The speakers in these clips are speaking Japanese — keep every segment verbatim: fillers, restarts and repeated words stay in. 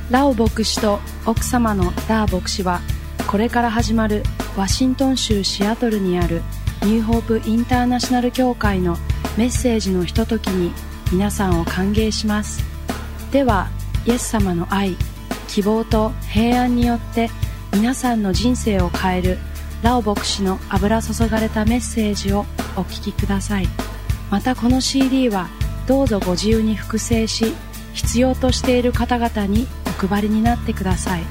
ラオ牧師と奥様のダー牧師は、これから始まるワシントン州シアトルにあるニューホープインターナショナル教会のメッセージのひとときに皆さんを歓迎します。では、イエス様の愛、希望と平安によって皆さんの人生を変えるラオ牧師の油注がれたメッセージをお聞きください。またこの シーディー はどうぞご自由に複製し、必要としている方々にお配りになってください。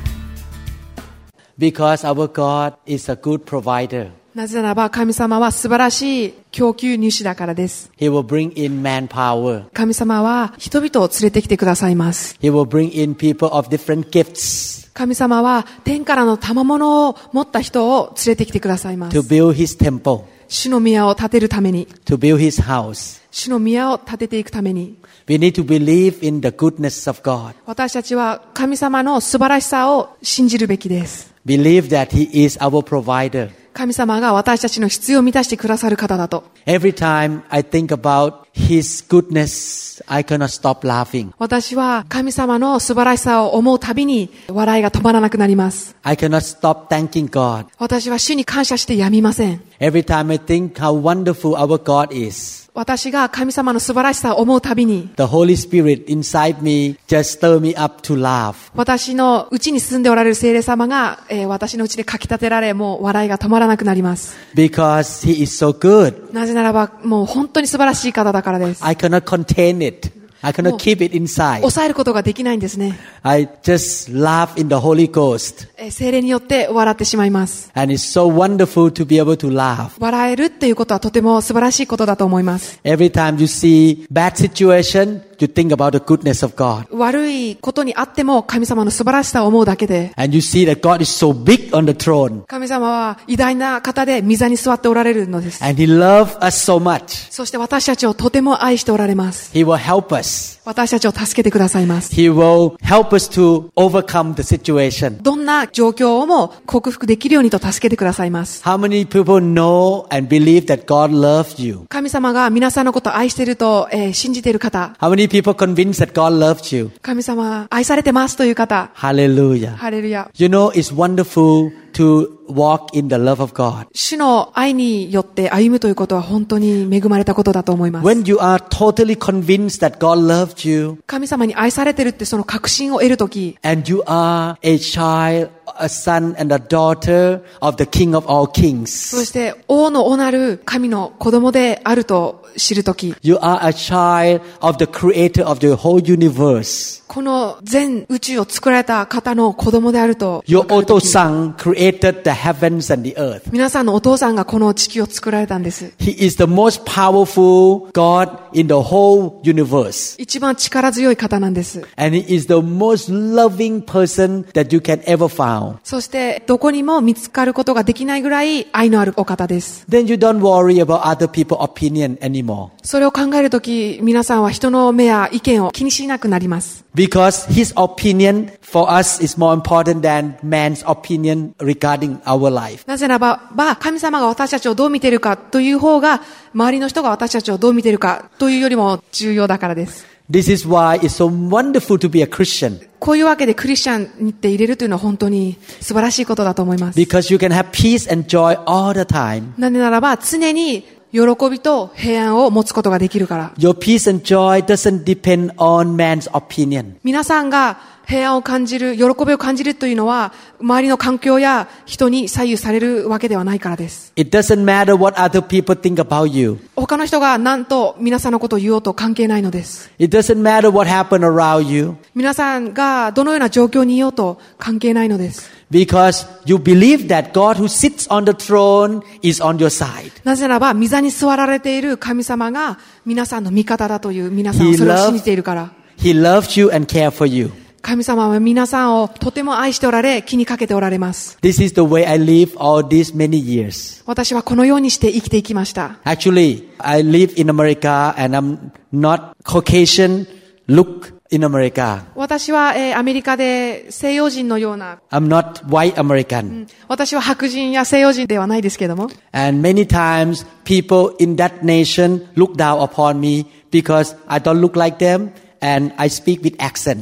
Because our God is a good provider. なぜならば神様は素晴らしい供給主だからです。 He will bring in manpower. 神様は人々を連れてきてくださいます。 He will bring in people of different gifts. 神様は天からの賜物を持った人を連れてきてくださいます。 To build His temple. 主の宮を建てるために。 To build His house. 主の宮を建てていくために。 We need to believe in the goodness of God. 私たちは神様の素晴らしさを信じるべきです。 Believe that He is our provider. 神様が私たちの必要を満たしてくださる方だと。 Every time I think about His goodness, I cannot stop laughing. 私は神様の素晴らしさを思うたびに笑いが止まらなくなります。 I cannot stop thanking God. 私は主に感謝してやみません。 Every time I think how wonderful our God is. 私が神様の素晴らしさを思うたびに The Holy Spirit inside me just stir me up to laugh. 私の内に住んでおられる聖霊様が、えー、私の内でかき立てられ、もう笑いが止まらなくなります。 Because He is so good. なぜならばもう本当に素晴らしい方だからです。 I cannot contain it. I cannot keep it inside. 抑えることができないんですね。 I just laugh in the Holy Ghost. えー、聖霊によって笑ってしまいます。 And it's so wonderful to be able to laugh. 笑えるっていうことはとても素晴らしいことだと思います。 Every time you see bad situation, you think about the goodness of God. 悪いことにあっても神様の素晴らしさを思うだけで、 And you see that God is so big on the throne. 神様は偉大な方で御座に座っておられるのです。 And He loves us so much. そして私たちをとても愛しておられます。 He will help us. 私たちを助けてくださいます。 He will help us to overcome the situation. どんな状況をも克服できるようにと助けてくださいます。 How many people know and believe that God loves you? 神様が皆さんのことを愛していると、えー、信じている方。 How many people convinced that God loves you? 神様愛されてますという方。 Hallelujah. ハレルヤ。 You know, it's wonderful to walk in the love of God. 主の愛によって歩むということは本当に恵まれたことだと思います。 When you are totally convinced that God loves you, 神様に愛されているってその確信を得るとき、 and you are a child, a son and a daughter of the King of all kings. そして王の王なる神の子供であると知るとき、 You are a child of the creator of the whole universe. この全宇宙を作られた方の子供であると Your Otosan created the heavens and the earth. 皆さんのお父さんがこの地球を作られたんです。 He is the most powerful God in the whole universe. 一番力強い方なんです。 And He is the most loving person that you can ever find. そしてどこにも見つかることができないぐらい愛のあるお方です。 Then you don't worry about other people's opinion anymore. それを考えるとき、皆さんは人の目や意見を気にしなくなります。 Because His opinion for us is more important than man's opinion regarding our life. なぜならば、神様が私たちをどう見ているかという方が、周りの人が私たちをどう見ているかというよりも重要だからです。 This is why it's so wonderful to be a Christian. こういうわけでクリスチャンにって入れるというのは本当に素晴らしいことだと思います。 Because you can have peace and joy all the time. なぜならば、常に喜びと平安を持つことができるから。 Your peace and joy doesn't depend on man's opinion. 皆さんが平安を感じる、喜びを感じるというのは、周りの環境や人に左右されるわけではないからです。 It doesn't matter what other people think about you. 他の人が何と皆さんのことを言おうと関係ないのです。 It doesn't matter what happened around you. 皆さんがどのような状況にいようと関係ないのです。 Because you believe that God who sits on the throne is on your side. なぜならば、御座に座られている神様が皆さんの味方だという皆さんはそれを信じているから。 He loves you and cares for you. 神様は皆さんをとても愛しておられ、気にかけておられます。 This is the way I live all these many years. 私はこのようにして生きていきました。 Actually, I live in America and I'm not Caucasian look in America. 私は、えー、アメリカで西洋人のような、 I'm not white American. 私は白人や西洋人ではないですけども。 And many times people in that nation look down upon me because I don't look like them and I speak with accent.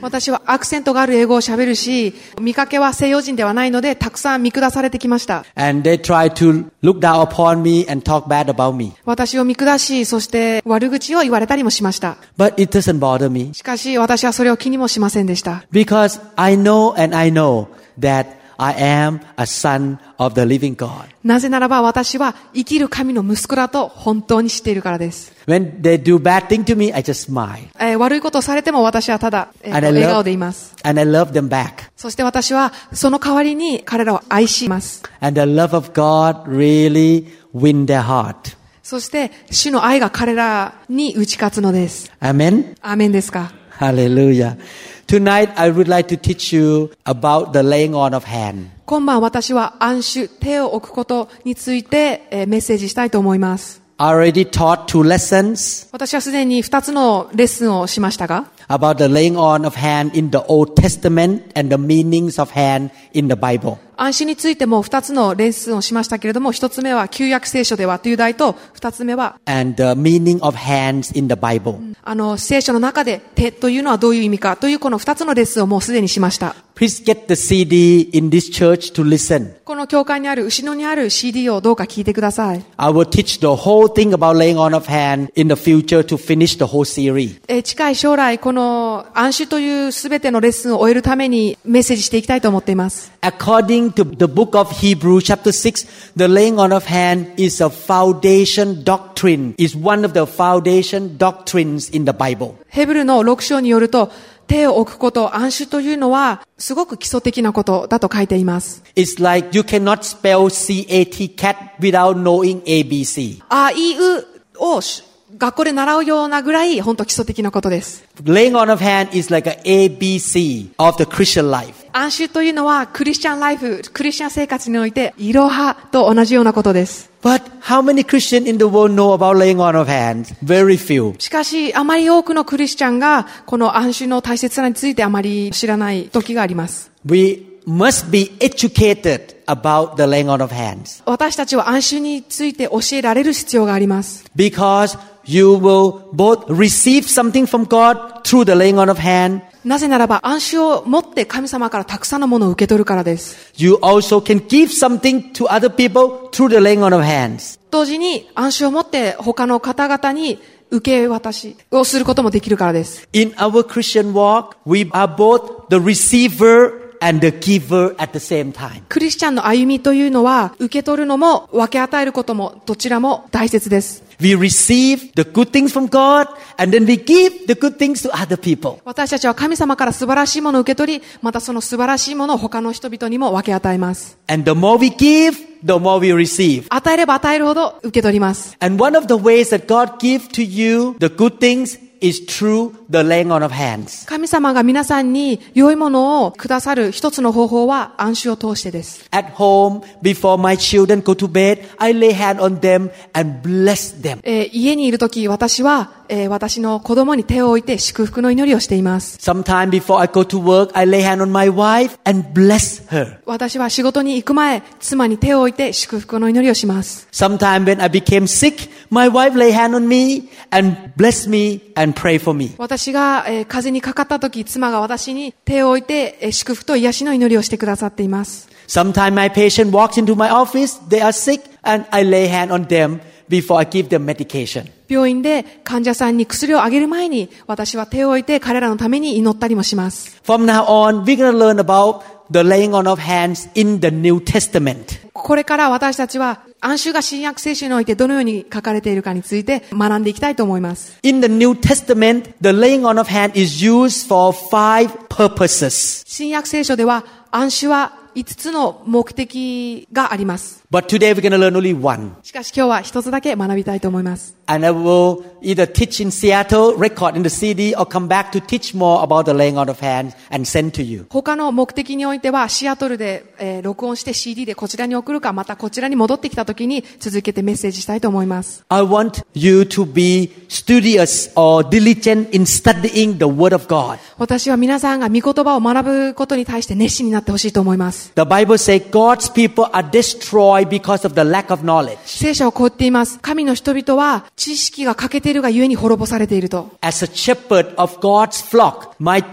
私はアクセントがある英語を喋るし、見かけは西洋人ではないので、たくさん見下されてきました。 And they try to look down upon me and talk bad about me. 私を見下し、そして悪口を言われたりもしました。 But it doesn't bother me. しかし私はそれを気にもしませんでした。 Because I know and I know that I am a son of the living God. なぜならば私は生きる神の息子だと本当に知っているからです。 When they do bad thing to me, I just smile. えー、悪いことをされても私はただ、えー、 And I love- 笑顔でいます。 And I love them back. そして私はその代わりに彼らを愛します。 And the love of God really win their heart. そして主の愛が彼らに打ち勝つのです。 Amen? アーメンですか。 Hallelujah. Tonight I would like to teach you about the laying on of hand. 今晩私は安守、手を置くことについて、えー、メッセージしたいと思います。 I already taught two lessons 私はすでに二つのレッスンをしましたが、 about the laying on of hand in the Old Testament and the meanings of hand in the Bible. 安心についても二つのレッスンをしましたけれども、一つ目は旧約聖書ではという題と、二つ目は And the meaning of hands in the Bible. あの聖書の中で手というのはどういう意味かというこの二つのレッスンをもうすでにしました。 Please get the C D in this church to listen. この教会にある後ろにある シーディー をどうか聞いてください。 I will teach the whole thing about laying on of hand in the future to finish the whole series. えー近い将来この安守というすべてのレッスンを終えるためにメッセージしていきたいと思っています。 According to the book of Hebrews chapter six, the laying on of hand is a foundation doctrine, is one of the foundation doctrines in the Bible. ヘブルのろく章によると、手を置くこと、安守というのはすごく基礎的なことだと書いています。 It's like you cannot spell C A T cat without knowing A B C. あいうを学校で習うようなぐらい本当基礎的なことです。 Laying on of hand is like an A B C of the Christian life. 安守というのはクリスチャンライフ、クリスチャン生活においていろはと同じようなことです。 But how many Christians in the world know about laying on of hands? Very few. しかしあまり多くのクリスチャンがこの安守の大切さについてあまり知らない時があります。 We must be educated about the laying on of hands. 私たちは安守について教えられる必要があります。 Because you will both receive something from God through the laying on of hand. なぜならば安守を持って神様からたくさんのものを受け取るからです。 You also can give something to other people through the laying on of hands. 同時に安守を持って他の方々に受け渡しをすることもできるからです。 In our Christian walk, we are both the receiver and the giver at the same time. クリスチャンの歩みというのは受け取るのも分け与えることもどちらも大切です。 We receive the good things from God and then we give the good things to other people. 私たちは神様から素晴らしいものを受け取り、またその素晴らしいものを他の人々にも分け与えます。 And the more we give, the more we receive. 与えれば与えるほど受け取ります。 And one of the ways that God gives to you the good things is through the laying on of hands. 神様が皆さんに良いものをくださる一つの方法は安守を通してです。 At home, before my children go to bed, I lay hand on them and bless them. えー家にいるとき私は、えー私の子供に手を置いて祝福の祈りをしています。 Sometime before I go to work, I lay hand on my wife and bless her. 私は仕事に行く前、妻に手を置いて祝福の祈りをします。 Sometime when I became sick, my wife lay hand on me and bless me and pray for me. 私が、えー風邪にかかったとき、妻が私に手を置いて、えー祝福と癒しの祈りをしてくださっています。 Sometime my patient walks into my office, they are sick, and I lay hand on them before I give them medication. 病院で患者さんに薬をあげる前に、私は手を置いて彼らのために祈ったりもします。 From now on, we're going to learn about the laying on of hands in the New Testament. これから私たちは安守が新約聖書においてどのように書かれているかについて学んでいきたいと思います。 In the New Testament, the laying on of hand is used for five purposes. 新約聖書では安守は五つの目的があります。 But today we're going to learn only one. しかし今日は一つだけ学びたいと思います。 And I will either teach in Seattle, record in the C D, or come back to teach more about the laying on of hands and send to you. 他の目的においてはシアトルで、えー録音して シーディー でこちらに送るか、またこちらに戻ってきた時に続けてメッセージしたいと思います。 I want you to be studious or diligent in studying the Word of God. 私は皆さんが御言葉を学ぶことに対して熱心になってほしいと思います。 The Bible says God's people are destroyed because of the lack of knowledge. 聖書はこう言っています。神の人々は知識が欠けているがゆえに滅ぼされていると。 As a shepherd of God's flock, my job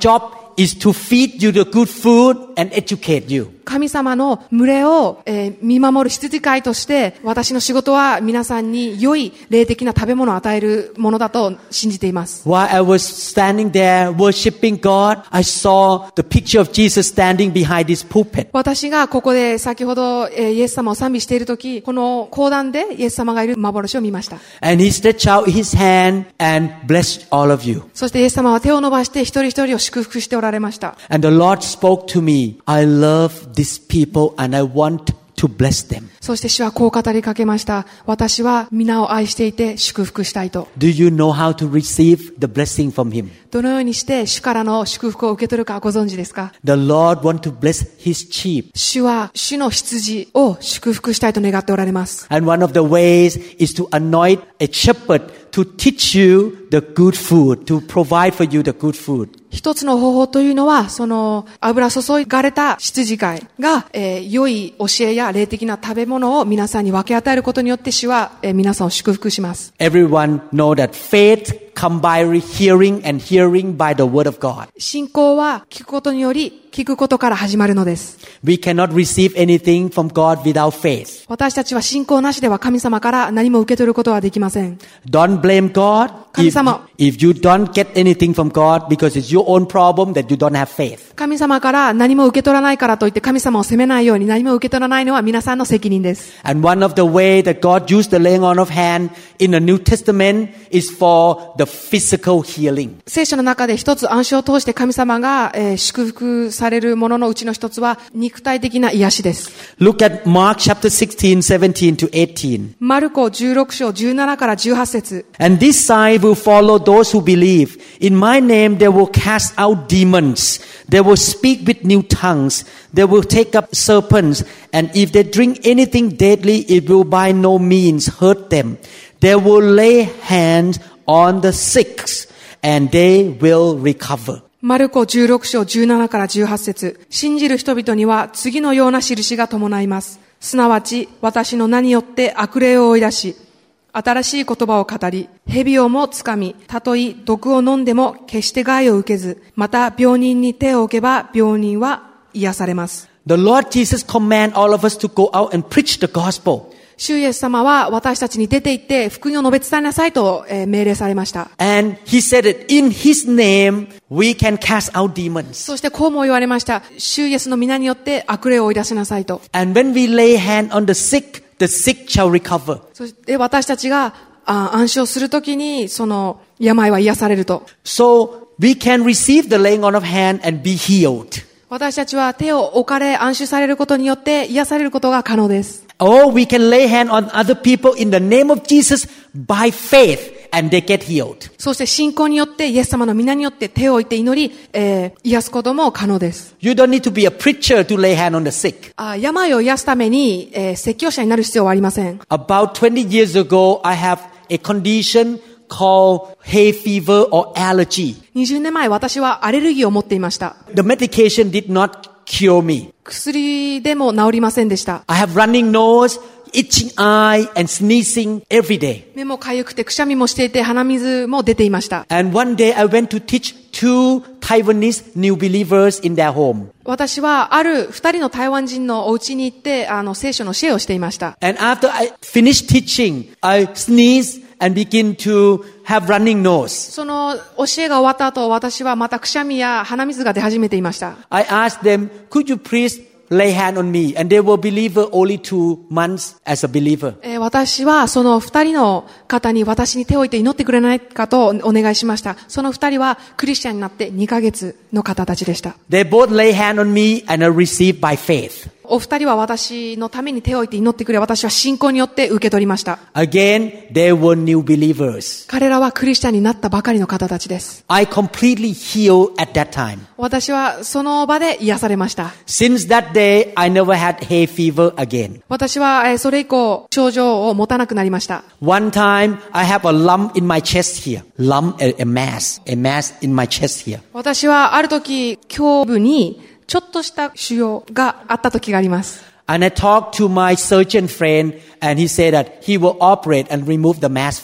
is to feed you the good food and educate you. 神様の群れを、えー、見守る羊飼いとして、私の仕事は皆さんに良い霊的な食べ物を与えるものだと信じています。 While I was standing there worshiping God, I saw the picture of Jesus standing behind this pulpit. 私がここで先ほど、えー、イエス様を賛美しているとき、この講談でイエス様がいる幻を見ました。 And he stretched out his hand and blessed all of you. そしてイエス様は手を伸ばして一人一人を祝福しておられました。 And the Lord spoke to me, I love these people and I want to bless them. そして主はこう語りかけました。私は皆を愛していて祝福したいと。 Do you know how to receive the blessing from him? どのようにして主からの祝福を受け取るかご存知ですか？ The Lord wants to bless his sheep. 主は主の羊を祝福したいと願っておられます。 And one of the ways is to anoint a shepherd to teach you the good food, to provide for you the good food. 一つの方法というのは、その油注がれた羊飼いが、えー、良い教えや霊的な食べ物を皆さんに分け与えることによって主は、えー、皆さんを祝福します。 Everyone know that faith come by hearing and hearing by the word of God. 信仰は聞くことにより聞くことから始まるのです。 We cannot receive anything from God without faith. 私たちは信仰なしでは神様から何も受け取ることはできません。 Don't blame God 神様。 if, if you don't get anything from God because it's your own problem that you don't have faith. 神様から何も受け取らないからといって神様を責めないように何も受け取らないのは皆さんの責任です。 And one of the way that God used the laying on of hand in the New Testament is for the physical healing. 聖書の中で一つ暗唱を通して神様が、えー、祝福されるもののうちの一つは肉体的な癒しです。 Look at Mark chapter sixteen, seventeen to eighteen. マルコじゅうろく章じゅうななからじゅうはち節。 And this sign will follow those who believe. In my name they will cast out demons. They will speak with new tongues. They will take up serpents. And if they drink anything deadly, it will by no means hurt them. They will lay hands on the sick, and they will recover. マルコじゅうろく章じゅうななからじゅうはち節。信じる人々には次のような印が伴います。すなわち、私の名によって悪霊を追い出し、新しい言葉を語り、蛇をもつかみ、たとえ毒を飲んでも決して害を受けず、また病人に手を置けば病人は癒されます。 The Lord Jesus command all of us to go out and preach the gospel. 主イエス様は私たちに出て行って福音を述べ伝えなさいと、えー、命令されました。 And he said it in his name we can cast out demons. そしてこうも言われました。主イエスの皆によって悪霊を追い出しなさいと。 And when we lay hand on the sick, the sick shall recover. そして私たちがあ暗唱するときにその病は癒されると。 So we can receive the laying on of hand and be healed. 私たちは手を置かれ暗唱されることによって癒されることが可能です。 Or we can lay hand on other people in the name of Jesus by faith and they get healed. そして信仰によってイエス様の皆によって手を置いて祈り、えー、癒すことも可能です。 You don't need to be a preacher to lay hand on the sick. あ病を癒すために、えー、説教者になる必要はありません。 About twenty years ago, I have a condition called hay fever or allergy. にじゅうねんまえ私はアレルギーを持っていました。 The medication did not cure me. 薬でも治りませんでした。 I have running nose, itching eye, and sneezing every day. 目もかゆくてくしゃみもしていて鼻水も出ていました。 And one day I went to teach two Taiwanese new believers in their home. 私はある二人の台湾人のお家に行ってあの聖書の教えをしていました。 And after I finished teaching, I sneezed and begin to have running nose. その教えが終わった後、私はまたくしゃみや鼻水が出始めていました。 I asked them, could you please lay hand on me? And they were believer only two months as a believer. えー、私はその二人の方に私に手を置いて祈ってくれないかとお願いしました。その二人はクリスチャンになってにかげつの方たちでした。 They both lay hand on me and I received by faith. お二人は私のために手を置いて祈ってくれ、私は信仰によって受け取りました。 Again, they were new believers. 彼らはクリスチャンになったばかりの方たちです。 I completely healed at that time. 私はその場で癒されました。 Since that day, I never had hay fever again. 私はそれ以降症状を持たなくなりました。 One time, I have a lump in my chest here. Lump, a, a mass, a mass in my chest here. 私はある時胸部にちょっとした腫瘍があった時があります。 And I talked to my surgeon friend and he said that he will operate and remove the mass for me.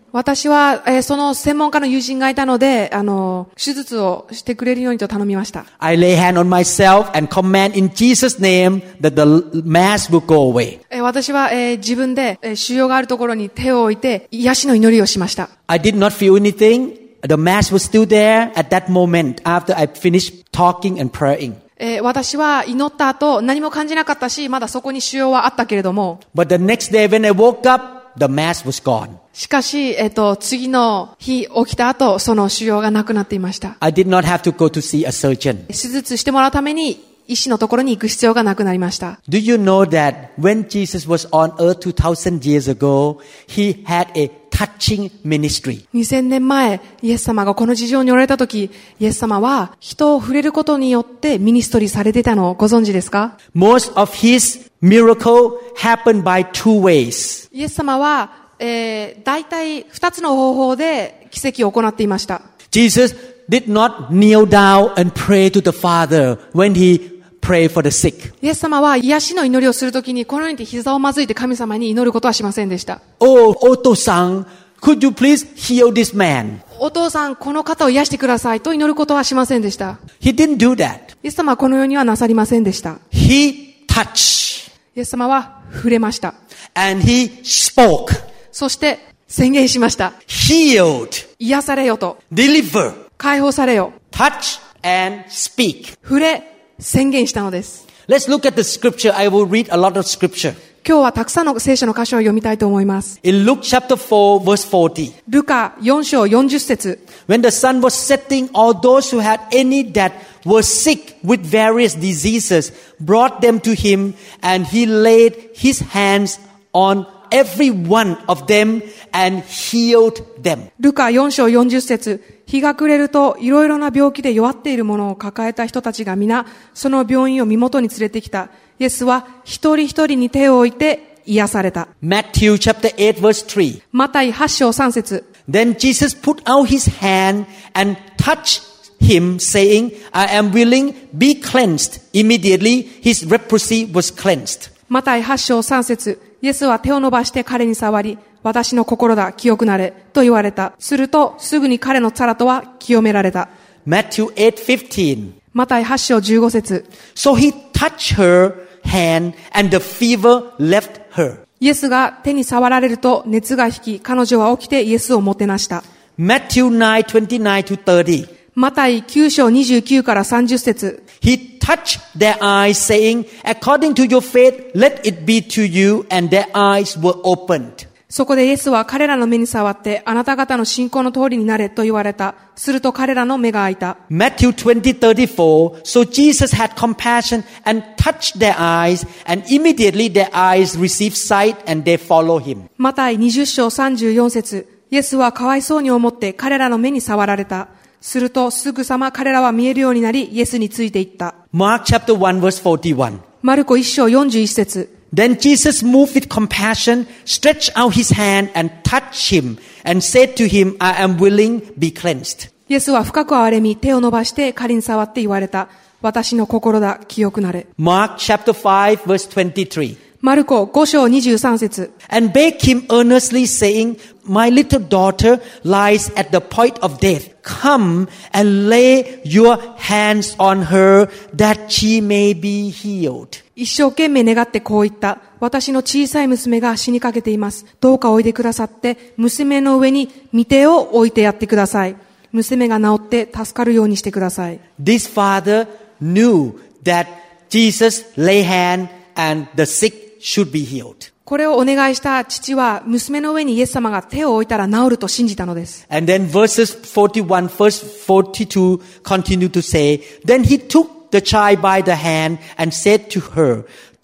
私は、えーその専門家の友人がいたので、あの、手術をしてくれるようにと頼みました。 I lay hand on myself and command in Jesus' name that the mass will go away. えー私は、えー自分で、えー腫瘍があるところに手を置いて、癒しの祈りをしました。 I did not feel anything. The mass was still there at that moment after I finished talking and praying. えー私は祈った後、何も感じなかったし、まだそこに腫瘍はあったけれども、 But the next day when I woke up, the mass was gone. しかし、えっと、次の日起きた後、その腫瘍がなくなっていました。 I did not have to go to see a surgeon. 手術してもらうために、医師のところに行く必要がなくなりました。 Do you know that when Jesus was on earth two thousand years ago, he had a touching ministry. にせんねんまえ、イエス様がこの地上におられた時、イエス様は人を触れることによってミニストリーされていたのをご存知ですか？ Most of his miracle happened by two ways. イエス様は、えー、大体二つの方法で奇跡を行っていました。 Jesus did not kneel down and pray to the Father when he prayed for the sick. イエス様は癒しの祈りをするときにこのように膝をまずいて神様に祈ることはしませんでした。 Oh, Oto-san, could you please heal this man? お父さん、この方を癒してくださいと祈ることはしませんでした。 He didn't do that. イエス様はこのようにはなさりませんでした。 He touched イエス様は触れました。 and he spoke. そして宣言しました。 Healed, 癒されよと。 deliver, 解放されよ。 touch and speak. 触れ、宣言したのです。 Let's look at the scripture. I will read a lot of scripture. 今日はたくさんの聖書の箇所を読みたいと思います。 In Luke chapter four, verse forty. ルカよん章よんじゅっ節。 When the sun was setting, all those who had any that were sick with various diseases brought them to him, and he laid his hands on every one of them and healed them. ルカよん章よんじゅっ節。日が暮れると、いろいろな病気で弱っているものを抱えた人たちが皆、その病院を身元に連れてきた。イエスは一人一人に手を置いて癒された。 Matthew chapter eight, verse three. マタイはち章さん節。 Then Jesus put out his hand and touched him, saying, I am willing, be cleansed. Immediately his leprosy was cleansed. マタイはち章さん節。イエスは手を伸ばして彼に触り、私の心だ、清くなれ、と言われた。すると、すぐに彼の皿とは清められた。 Matthew eight fifteen. マタイはち章じゅうご節。 So he touched her hand and the fever left her. イエスが手に触られると熱が引き、彼女は起きてイエスをもてなした。 Matthew nine twenty-nine to thirty. マタイきゅう章にじゅうきゅうからさんじゅっ節。 He touched their eyes, saying, According to your faith, let it be to you. And their eyes were opened. そこでイエスは彼らの目に触って、あなた方の信仰の通りになれと言われた。すると彼らの目が開いた。 Matthew twenty thirty-four. So Jesus had compassion and touched their eyes, and immediately their eyes received sight, and they followed him. マタイにじゅう章さんじゅうよん節。イエスはかわいそうに思って彼らの目に触られた。するとすぐさま彼らは見えるようになり、イエスについていった。 Mark chapter one, verse forty-one. マルコいち章よんじゅういち節。 Then Jesus moved with compassion, stretched out his hand and touched him, and said to him, I am willing, be cleansed. イエスは深く憐れみ、手を伸ばして彼に触って言われた。私の心だ、清くなれ。 Mark chapter five, verse twenty-three. マルコご章にじゅうさん節。 And begged him earnestly, saying, My little daughter lies at the point of death. Come and lay your hands on her, that she may be healed. 一生懸命願ってこう言った。私の小さい娘が死にかけています。どうかおいでくださって、娘の上に御手を置いてやってください。娘が治って助かるようにしてください。 This father knew that Jesus lay hand and the sick should be healed. これをお願いした父は、娘の上にイエス様が手を置いたら治ると信じたのです。 And then verses forty-one, verse forty-two continue to say, Then he took the child by the hand and said to her,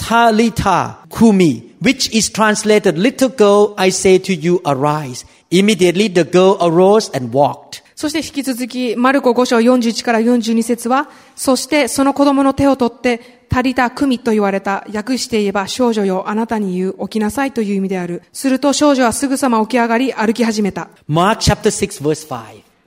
Talitha kumi, which is translated, Little girl, I say to you, arise. Immediately the girl arose and walked. そして引き続き、マルコご章よんじゅういちからよんじゅうに節は、そしてその子供の手を取って、タリタクミと言われた。訳して言えば、少女よ、あなたに言う、起きなさいという意味である。すると少女はすぐさま起き上がり、歩き始めた。 Mark chapter six, verse five.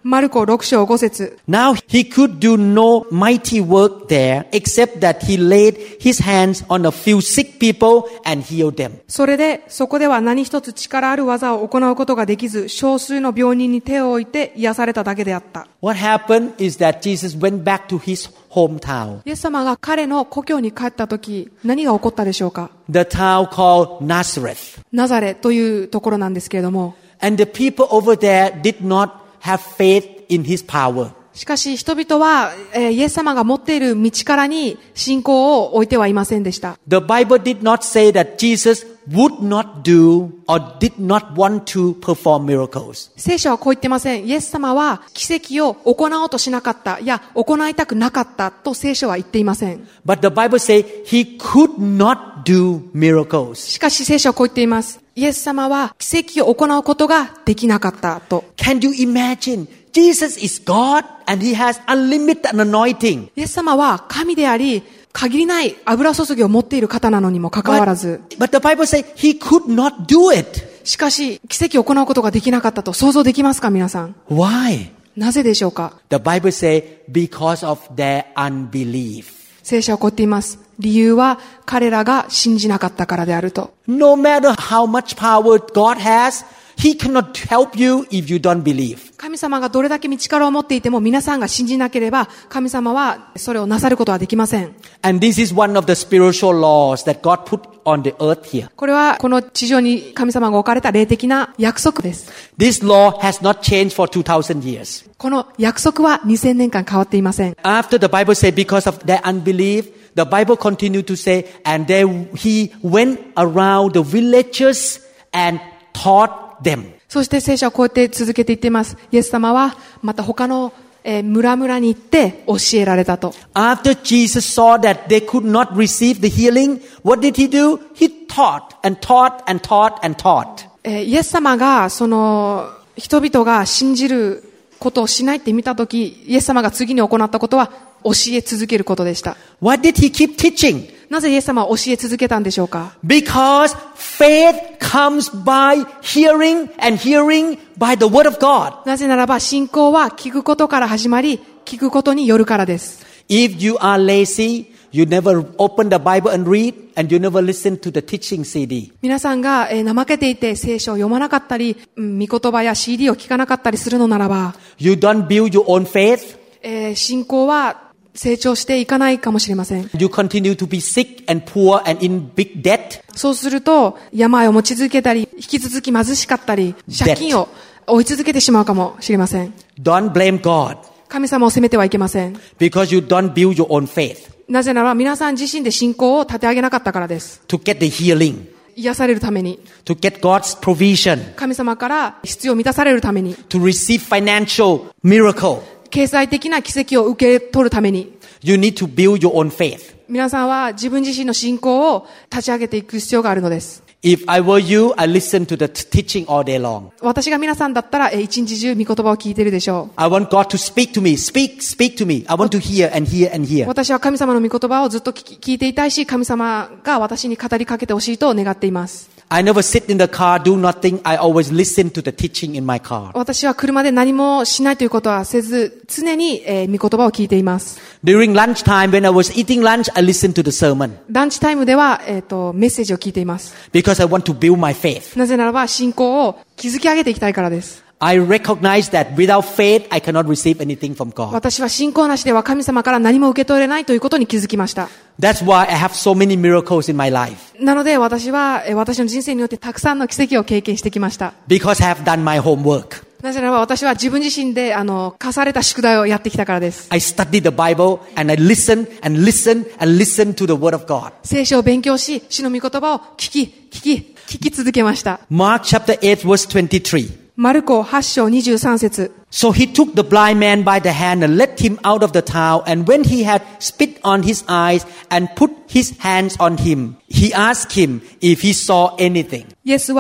マルコろく章ご節。 Now he could do no mighty work there except that he laid his hands on a few sick people and healed them. それで、そこでは何一つ力ある技を行うことができず、少数の病人に手を置いて癒されただけであった。 What happened is that Jesus went back to his hometown. イエス様が彼の故郷に帰ったとき、何が起こったでしょうか？ The town called Nazareth. ナザレというところなんですけれども、 And the people over there did not have faith in his power. しかし人々は、えー、イエス様が持っている道からに信仰を置いてはいませんでした。 The Bible did not say that Jesus would not do or did not want to perform miracles. 聖書はこう言ってません。イエス様は奇跡を行おうとしなかった。いや、行いたくなかったと聖書は言っていません。 But the Bible says he could not do miracles. しかし聖書はこう言っています。イエス様は奇跡を行うことができなかったと。 Can you imagine? Jesus is God and he has unlimited anointing. イエス様は神であり、限りない油注ぎを持っている方なのにもかかわらず。 But, but the Bible says he could not do it. しかし、奇跡を行うことができなかったと想像できますか、皆さん。 Why? なぜでしょうか？ The Bible says because of their unbelief. 聖書はこう言っています。理由は彼らが信じなかったからであると。 No matter how much power God has, He cannot help you if you don't believe. 神様がどれだけ力を持っていても皆さんが信じなければ神様はそれをなさることはできません。 And this is one of the spiritual laws that God put on the earth here. これはこの地上に神様が置かれた霊的な約束です。 This law has not changed for two thousand years. この約束はにせんねんかん変わっていません。 After the Bible said because of their unbelief, the Bible continued to say, and they, he went around the villages and taught them. そして聖書はこうやって続けていっています。イエス様はまた他の、えー、村々に行って教えられたと。 After Jesus saw that they could not receive the healing, what did he do? He taught and taught and taught and taught. えー、イエス様がその人々が信じることをしないって見たとき、イエス様が次に行ったことは教え続けることでした。 Why did he keep teaching? なぜイエス様は教え続けたんでしょうか？ Because faith comes by hearing and hearing by the word of God. なぜならば信仰は聞くことから始まり、聞くことによるからです。 If you are lazy, you never open the Bible and read, and you never listen to the teaching シーディー. 皆さんが、えー、怠けていて聖書を読まなかったり、うん、御言葉や シーディー を聞かなかったりするのならば、 You don't build your own faith. えー、信仰は成長していかないかもしれません。 You continue to be sick and poor and in big debt. そうすると病を持ち続けたり、引き続き貧しかったり、借金を追い続けてしまうかもしれません。 Don't blame God. 神様を責めてはいけません。 Because you don't build your own faith. なぜなら皆さん自身で信仰を立て上げなかったからです。 To get the healing. 癒されるために。 To get God's provision. 神様から必要を満たされるために。 To receive financial miracle. 経済的な奇跡を受け取るために。 You need to build your own faith. 皆さんは自分自身の信仰を立ち上げていく必要があるのです。 If I were you, I listen to the teaching all day long. 私が皆さんだったら一日中御言葉を聞いているでしょう。 I want God to speak to me. Speak, speak to me. I want to hear and hear and hear. 私は神様の御言葉をずっと聞き、聞いていたいし、神様が私に語りかけてほしいと願っています。 I never sit in the car, do nothing. I always listen to the teaching in my car. 私は車で何もしないということはせず、常に、えー、御言葉を聞いています。 During lunchtime, when I was eating lunch, I listened to the sermon. ランチタイムでは、えーと、メッセージを聞いています。 Because I want to build my faith. なぜならば信仰を築き上げていきたいからです。 I recognize that without faith, I cannot receive anything from God. 私は信仰なしでは神様から何も受け取れないということに気づきました。 That's why I have so many miracles in my life. なので私は私の人生によってたくさんの奇跡を経験してきました。 Because I have done my homework. なぜならば私は自分自身であの課された宿題をやってきたからです。 I studied the Bible and I listen and listen and listen to the Word of God. 聖書を勉強し、主の御言葉を聞き、聞き、聞き続けました。 Mark chapter eight verse twenty-three. マルコはち章にじゅうさん節。 So he took the blind man by the hand and led him out of the town. And when he had spit on his eyes and put his hands on him, he asked him if he saw anything. イエスは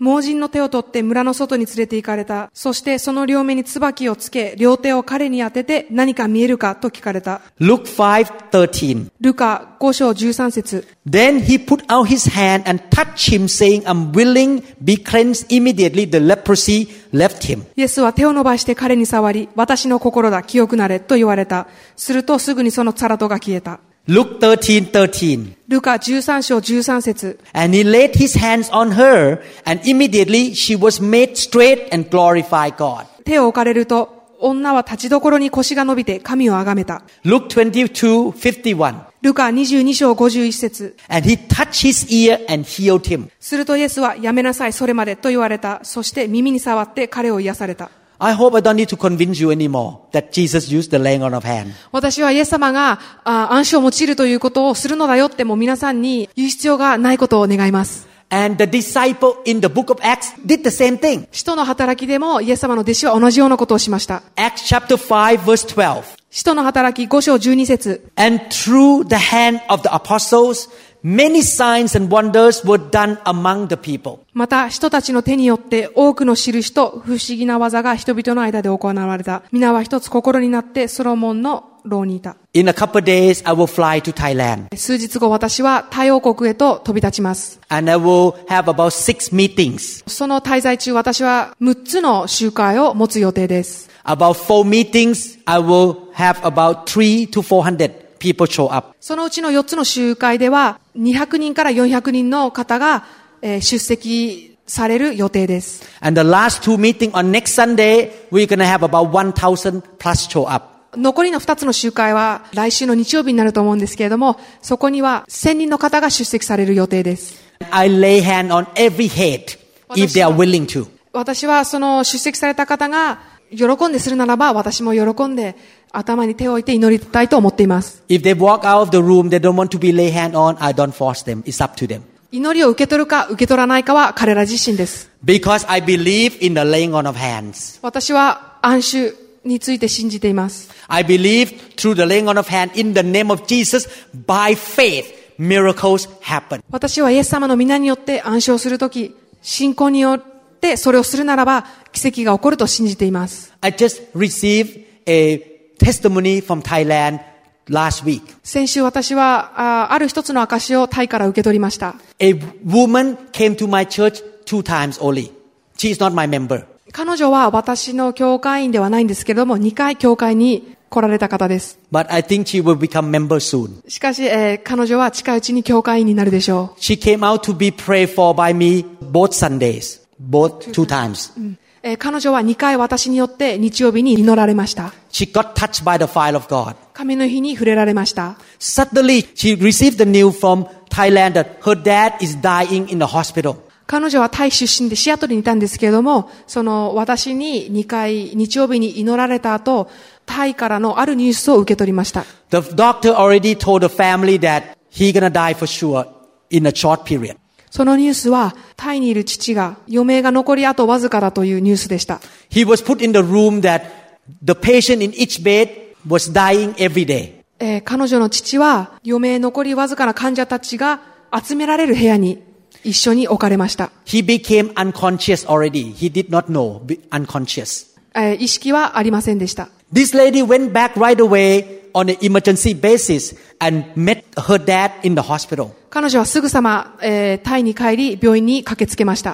盲人の手を取って村の外に連れて行かれた。そしてその両目に椿をつけ、両手を彼に当てて何か見えるかと聞かれた。 Luke five thirteen. ルカご章じゅうさん節。 Then he put out his hand and touched him, saying, I'm willing, be cleansed. Immediately the leprosy left him. イエスは手を伸ばして彼に触り、私の心だ、清くなれと言われた。するとすぐにそのサラトが消えた。 Luke thirteen thirteen. ルカじゅうさん章じゅうさん節。 And he laid his hands on her, and immediately she was made straight and glorified God. 手を置かれると、女は立ちどころに腰が伸びて神をあがめた。 Luke twenty-two fifty-one. ルカにじゅうに章ごじゅういち節。 And he touched his ear and healed him. するとイエスはやめなさい、それまでと言われた。そして耳に触って彼を癒された。 I hope I don't need to convince you anymore that Jesus used the laying on of hand. 私はイエス様があ暗視を用いるということをするのだよってもう皆さんに言う必要がないことを願います。 And the disciple in the book of Acts did the same thing. 使徒の働きでもイエス様の弟子は同じようなことをしました。 Acts chapter five verse twelve. 使徒の働きご章じゅうに節。 And through the hand of the apostles, many signs and wonders were done among the people. また人たちの手によって多くの印と不思議な技が人々の間で行われた。皆は一つ心になってソロモンの牢にいた。 In a couple of days, I will fly to Thailand. 数日後私はタイ王国へと飛び立ちます。 And I will have about six meetings. その滞在中私はむっつの集会を持つ予定です。 About four meetings, I will have about three to four hundred people show up. そのうちのよっつの集会ではにひゃくにんからよんひゃくにんの方が、えー、出席される予定です。 And the last two meetings on next Sunday, we're going to have about one thousand plus show up. 残りのふたつの集会は来週の日曜日になると思うんですけれども、そこにはせんにんの方が出席される予定です。 I lay hand on every head if they are willing to. 私はその出席された方が喜んでするならば、私も喜んで頭に手を置いて祈りたいと思っています。 If they walk out of the room, they don't want to be lay hand on, I don't force them. It's up to them. 祈りを受け取るか受け取らないかは彼ら自身です。 Because I believe in the laying on of hands. 私は暗衆について信じています。 I believe through the laying on of hand in the name of Jesus, by faith, miracles happen. 私はイエス様の皆によって暗唱するとき、信仰によってそれをするならば奇跡が起こると信じています。 I just received a testimony from Thailand last week. 先週私は あ, ある一つの証をタイから受け取りました。 A woman came to my church two times only. She is not my member. 彼女は私の教会員ではないんですけれども、にかい教会に来られた方です。 But I think she will become member soon. しかし、えー、彼女は近いうちに教会員になるでしょう。 She came out to be prayed for by me both Sundays, both two times. うんえー、彼女はにかい私によって日曜日に祈られました。 She got touched by the fire of God. 神の日に触れられました。 Suddenly, she received the news from Thailand that her dad is dying in the hospital. 彼女はタイ出身でシアトルにいたんですけれども、その私ににかい日曜日に祈られた後、タイからのあるニュースを受け取りました。 The doctor already told the family that he's gonna die for sure in a short period. そのニュースはタイにいる父が余命が残りあとわずかだというニュースでした。 He was put in the room that the patient in each bed was dying every day. えー、彼女の父は余命残りわずかな患者たちが集められる部屋に一緒に置かれました。 He became unconscious already. He did not know, unconscious. えー、意識はありませんでした。 This lady went back right away on an emergency basis and met her dad in the hospital. 彼女はすぐさま、えー、タイに帰り病院に駆けつけました。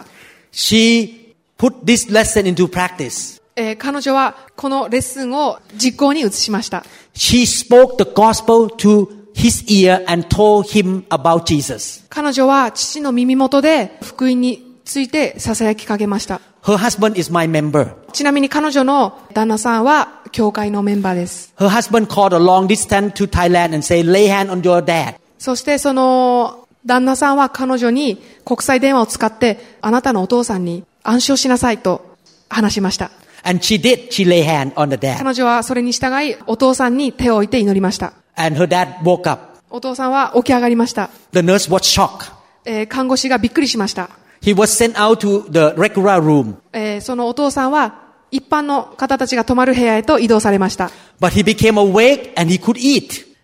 She put this lesson into practice. えー、彼女はこのレッスンを実行に移しました。 She spoke the gospel to his ear and told him about Jesus. 彼女は父の耳元で福音について囁きかけました。 Her husband is my member. ちなみに彼女の旦那さんは教会のメンバーです。 Her husband called a long distance to Thailand and said, lay hand on your dad. そしてその旦那さんは彼女に国際電話を使ってあなたのお父さんに暗唱しなさいと話しました。 And she did. She lay hand on the dad. 彼女はそれに従いお父さんに手を置いて祈りました。 And her dad woke up. お父さんは起き上がりました。 The nurse was shocked. えー、看護師がびっくりしました。 He was sent out to the regular room. えー、そのお父さんは一般の方たちが泊まる部屋へと移動されました。 But he became awake and he could eat.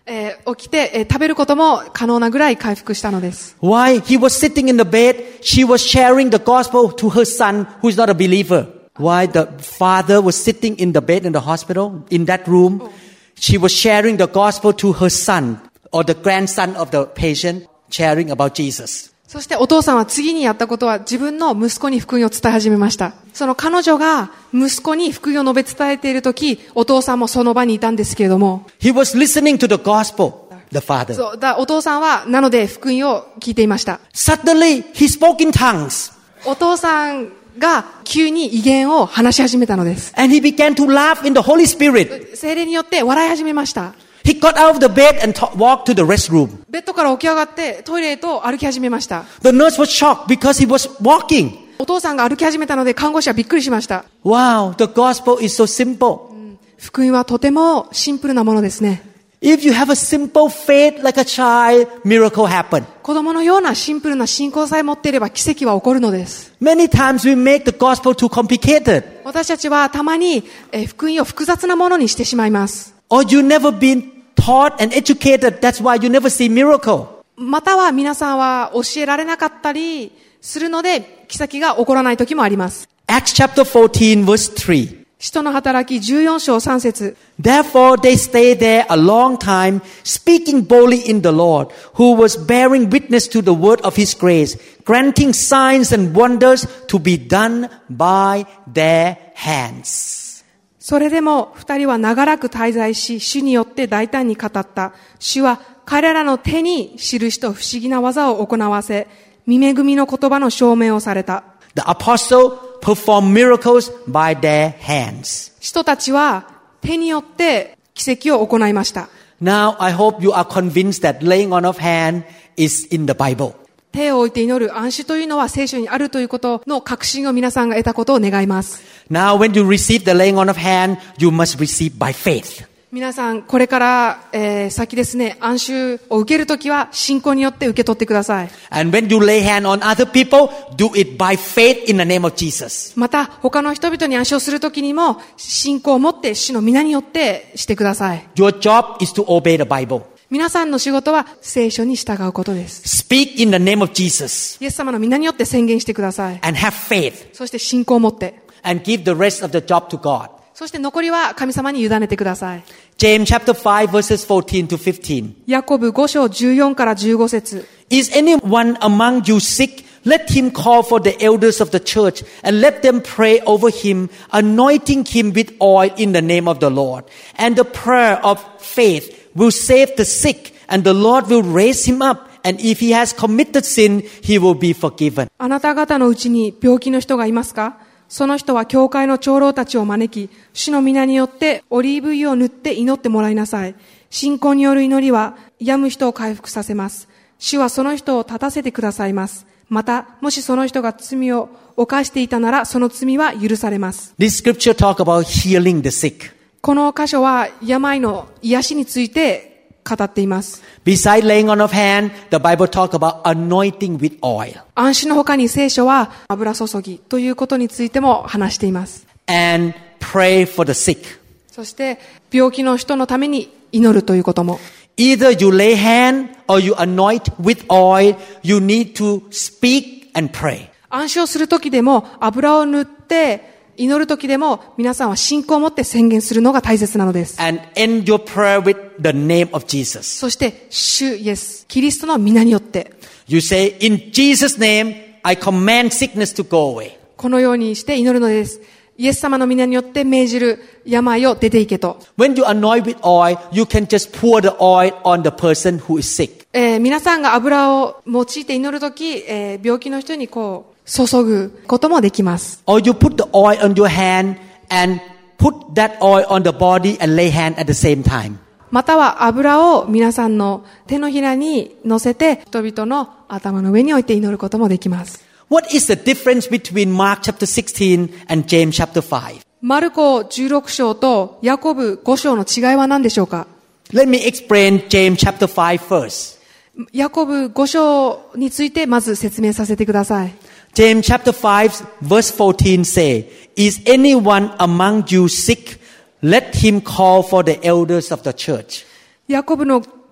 えー起きて、えー食べることも可能なぐらい回復したのです。 Why? He was sitting in the bed. She was sharing the gospel to her son who is not a believer. Why? The father was sitting in the bed in the hospital, in that room. She was sharing the gospel to her son or the grandson of the patient, sharing about Jesus. そしてお父さんは次にやったことは自分の息子に福音を伝え始めました。その彼女が息子に福音を述べ伝えているとき、お父さんもその場にいたんですけれども。 He was listening to the gospel, the father. そうだお父さんはなので福音を聞いていました。 Suddenly, he spoke in tongues. お父さんが急に異言を話し始めたのです。 And he began to laugh in the Holy Spirit. 聖霊によって笑い始めました。 He got out of the bed and t- walked to the restroom. ベッドから起き上がってトイレへと歩き始めました。 The nurse was shocked because he was walking. お父さんが歩き始めたので看護師はびっくりしました。 Wow, the gospel is so simple. 福音はとてもシンプルなものですね。 If you have a simple faith like a child, miracle happen. 子供のようなシンプルな信仰さえ持っていれば奇跡は起こるのです。 Many times we make the gospel too complicated. 私たちはたまに、えー福音を複雑なものにしてしまいます。 Or you never been taught and educated. That's why you never see miracle. または皆さんは教えられなかったりするので奇跡が起こらない時もあります。 Acts chapter fourteen verse three. 使徒の働きじゅうよん章さん節。 Therefore they stayed there a long time, speaking boldly in the Lord, who was bearing witness to the word of his grace, granting signs and wonders to be done by their hands. それでも二人は長らく滞在し、主によって大胆に語った。主は彼らの手に印と不思議な技を行わせ、御恵みの言葉の証明をされた。 The apostle performed miracles by their hands. 使徒たちは手によって奇跡を行いました。 Now I hope you are convinced that laying on of hand is in the Bible. 手を置いて祈る暗視というのは聖書にあるということの確信を皆さんが得たことを願います。 Now when you receive the laying on of hand, you must receive by faith. 皆さんこれから、えー、先ですね、暗視を受けるときは信仰によって受け取ってください。 And when you lay hand on other people, do it by faith in the name of Jesus. また他の人々に暗視をするときにも信仰を持って主の皆によってしてください。 Your job is to obey the Bible. 皆さんの仕事は聖書に従うことです。 Speak in the name of Jesus イエス様の皆によって宣言してください。 and have faith そして信仰を持って、 and give the rest of the job to God. そして残りは神様に委ねてください。 James chapter five verses fourteen to fifteen. ヤコブご章じゅうよんからじゅうご節。 Is anyone among you sick? Let him call for the elders of the church and let them pray over him, anointing him with oil in the name of the Lord. And the prayer of faith will save the sick, and the Lord will raise him up. And if he has committed sin, he will be forgiven. あなた方のうちに病気の人がいますか？その人は教会の長老たちを招き、主の皆によってオリーブ油を塗って祈ってもらいなさい。信仰による祈りは病む人を回復させます。主はその人を立たせてくださいます。また、もしその人が罪を犯していたなら、その罪は許されます。 This scripture talk about healing the sick. この箇所は病の癒しについて語っています。 Beside laying on of hand, the Bible talk about anointing with oil. 暗視の他に聖書は油注ぎということについても話しています。 And pray for the sick. そして病気の人のために祈るということも。 Either you lay hand or you anoint with oil, you need to speak and pray. 暗視をするときでも油を塗って祈るときでも皆さんは信仰を持って宣言するのが大切なのです。 And end your prayer with the name of Jesus. そして主イエスキリストの皆によって You say, in Jesus' name, I command sickness to go away. このようにして祈るのです。イエス様の皆によって命じる病を出ていけと。 When you anoint with oil, you can just pour the oil on the person who is sick. えー、皆さんが油を用いて祈るとき、えー、病気の人にこう注ぐこともできます。 Or you put the oil on your hand and put that oil on the body and lay hand at the same time. または油を皆さんの手のひらに乗せて人々の頭の上に置いて祈ることもできます。 What is the difference between Mark chapter sixteen and James chapter five? マルコじゅうろく章とヤコブご章の違いは何でしょうか？ Let me explain James chapter five first. ヤコブご章についてまず説明させてください。 James chapter five verse fourteen say, Is anyone among you sick? Let him call for the elders of the church. ヤコブの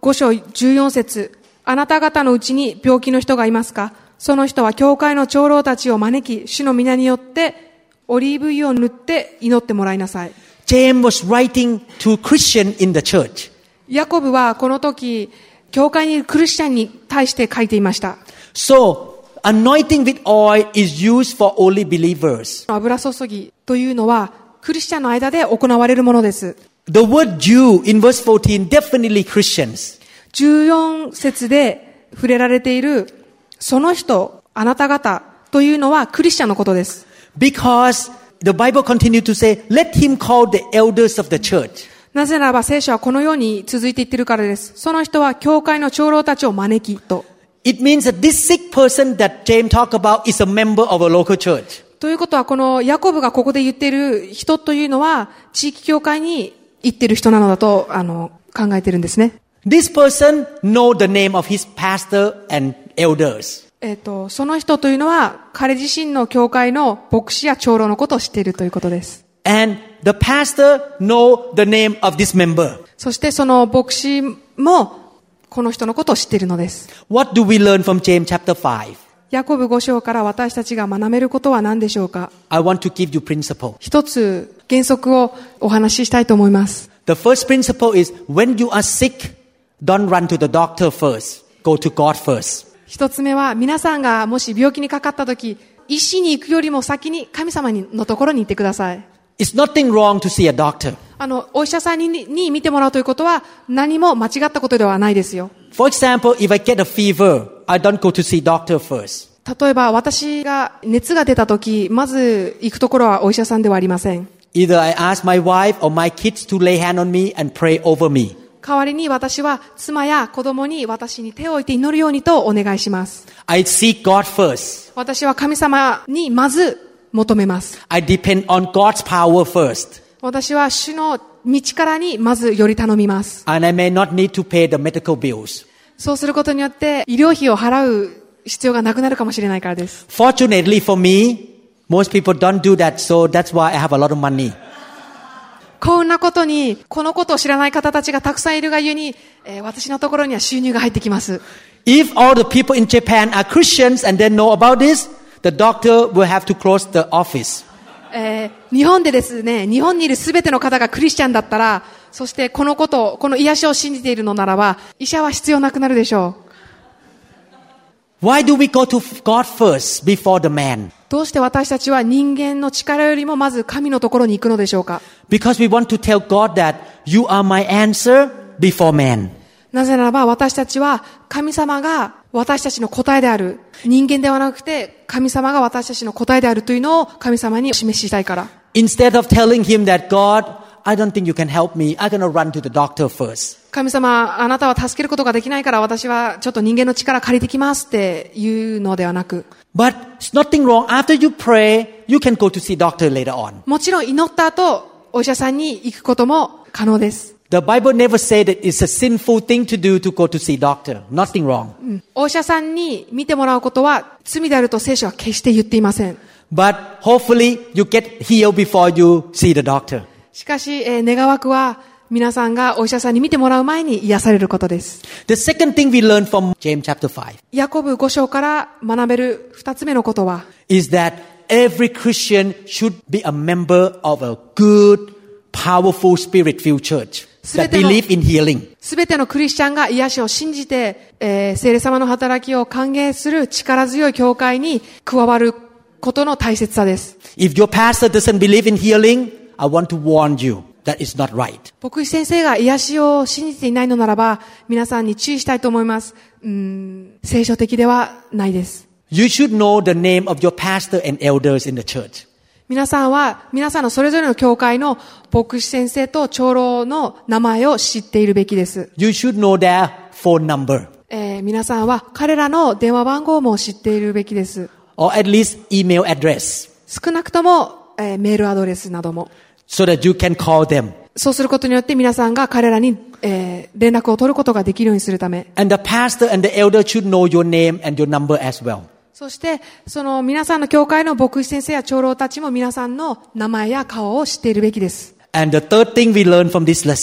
ご章じゅうよん節、あなた方のうちに病気の人がいますか？その人は教会の長老たちを招き、主の皆によってオリーブ油を塗って祈ってもらいなさい。 James was writing to Christians in the church. ヤコブはこの時、教会にいるクリスチャンに対して書いていました。 So, anointing with oil is used for only believers. 油注ぎというのはクリスチャンの間で行われるものです。 The word Jew in verse fourteen, definitely Christians. じゅうよん節で触れられているその人、あなた方というのはクリスチャンのことです。 Because the Bible continues to say, let him call the elders of the church. なぜならば聖書はこのように続いていっているからです。その人は教会の長老たちを招きと。 It means that this sick person that James talked about is a member of a local church. ということはこのヤコブがここで言っている人というのは地域教会に行っている人なのだとあの考えているんですね。 This person know the name of his pastor and elders. えっと、その人というのは彼自身の教会の牧師や長老のことを知っているということです。 And the pastor know the name of this member. そしてその牧師もこの人のことを知っているのです。 What do we learn from James chapter five? ヤコブご章から私たちが学べることは何でしょうか？ I want to give you principle. 一つ原則をお話ししたいと思います。 The first principle is when you are sick, don't run to the doctor first. Go to God first. 一つ目は皆さんがもし病気にかかったとき、医師に行くよりも先に神様のところに行ってください。 It's nothing wrong to see a doctor. あの、お医者さんに、に見てもらうということは何も間違ったことではないですよ。 For example, if I get a fever, I don't go to see doctor first. 例えば私が熱が出たとき、まず行くところはお医者さんではありません。 Either I ask my wife or my kids to lay hand on me and pray over me. 代わりに私は妻や子供に私に手を置いて祈るようにとお願いします。 I seek God first. 私は神様にまず求めます。 I depend on God's power first. 私は主の道からにまずより頼みます。 And I may not need to pay the medical bills. そうすることによって医療費を払う必要がなくなるかもしれないからです。 Fortunately for me, most people don't do that, so that's why I have a lot of money. 幸運なことに、このことを知らない方たちがたくさんいるがゆえに、えー、私のところには収入が入ってきます。 If all the people in Japan are Christians and they know about this, the doctor will have to close the office. えー、日本でですね、日本にいるすべての方がクリスチャンだったら、そしてこのこと、この癒しを信じているのならば、医者は必要なくなるでしょう。Why do we go to God first before the man? どうして私たちは人間の力よりもまず神のところに行くのでしょうか？ Because we want to tell God that you are my answer before man. なぜならば私たちは神様が私たちの答えである。人間ではなくて神様が私たちの答えであるというのを神様に示したいから。 Instead of telling him that God, I don't think you can help me, I'm gonna run to the doctor first. 神様、あなたは助けることができないから私はちょっと人間の力借りてきますっていうのではなく。 But it's nothing wrong. After you pray, you can go to see doctor later on. もちろん祈った後、お医者さんに行くことも可能です。 The Bible never said that it's a sinful thing to do to go to see doctor. Nothing wrong. うん、お医者さんに見てもらうことは罪であると聖書は決して言っていません。 But hopefully you get healed before you see the doctor. しかし、えー、願わくは皆さんがお医者さんに見てもらう前に癒されることです。 The second thing we learn from James chapter five. ヤコブご章から学べる二つ目のことは is that every Christian should be a member of a good, powerful, spirit-filled church that believe in healing. すべてのクリスチャンが癒しを信じて、えー、聖霊様の働きを歓迎する力強い教会に加わることの大切さです。 If your pastor doesn't believe in healing, I want to warn you.That is not right. 牧師先生が癒しを信じていないのならば、皆さんに注意したいと思います。うーん、聖書的ではないです。 You should know the name of your pastor and elders in the church. 皆さんは、皆さんのそれぞれの教会の牧師先生と長老の名前を知っているべきです。 You should know their phone number. えー、皆さんは彼らの電話番号も知っているべきです。 Or at least email address. 少なくとも、えー、メールアドレスなども。 So that you can call them. そうすることによって皆さんが彼らに、えー、連絡を取ることができるようにするため。 And the pastor and the elder should know your name and your number as well. そして、その皆さんの教会の牧師先生や長老たちも皆さんの名前や顔を知っているべきです。 And the third thing we learn from this lesson.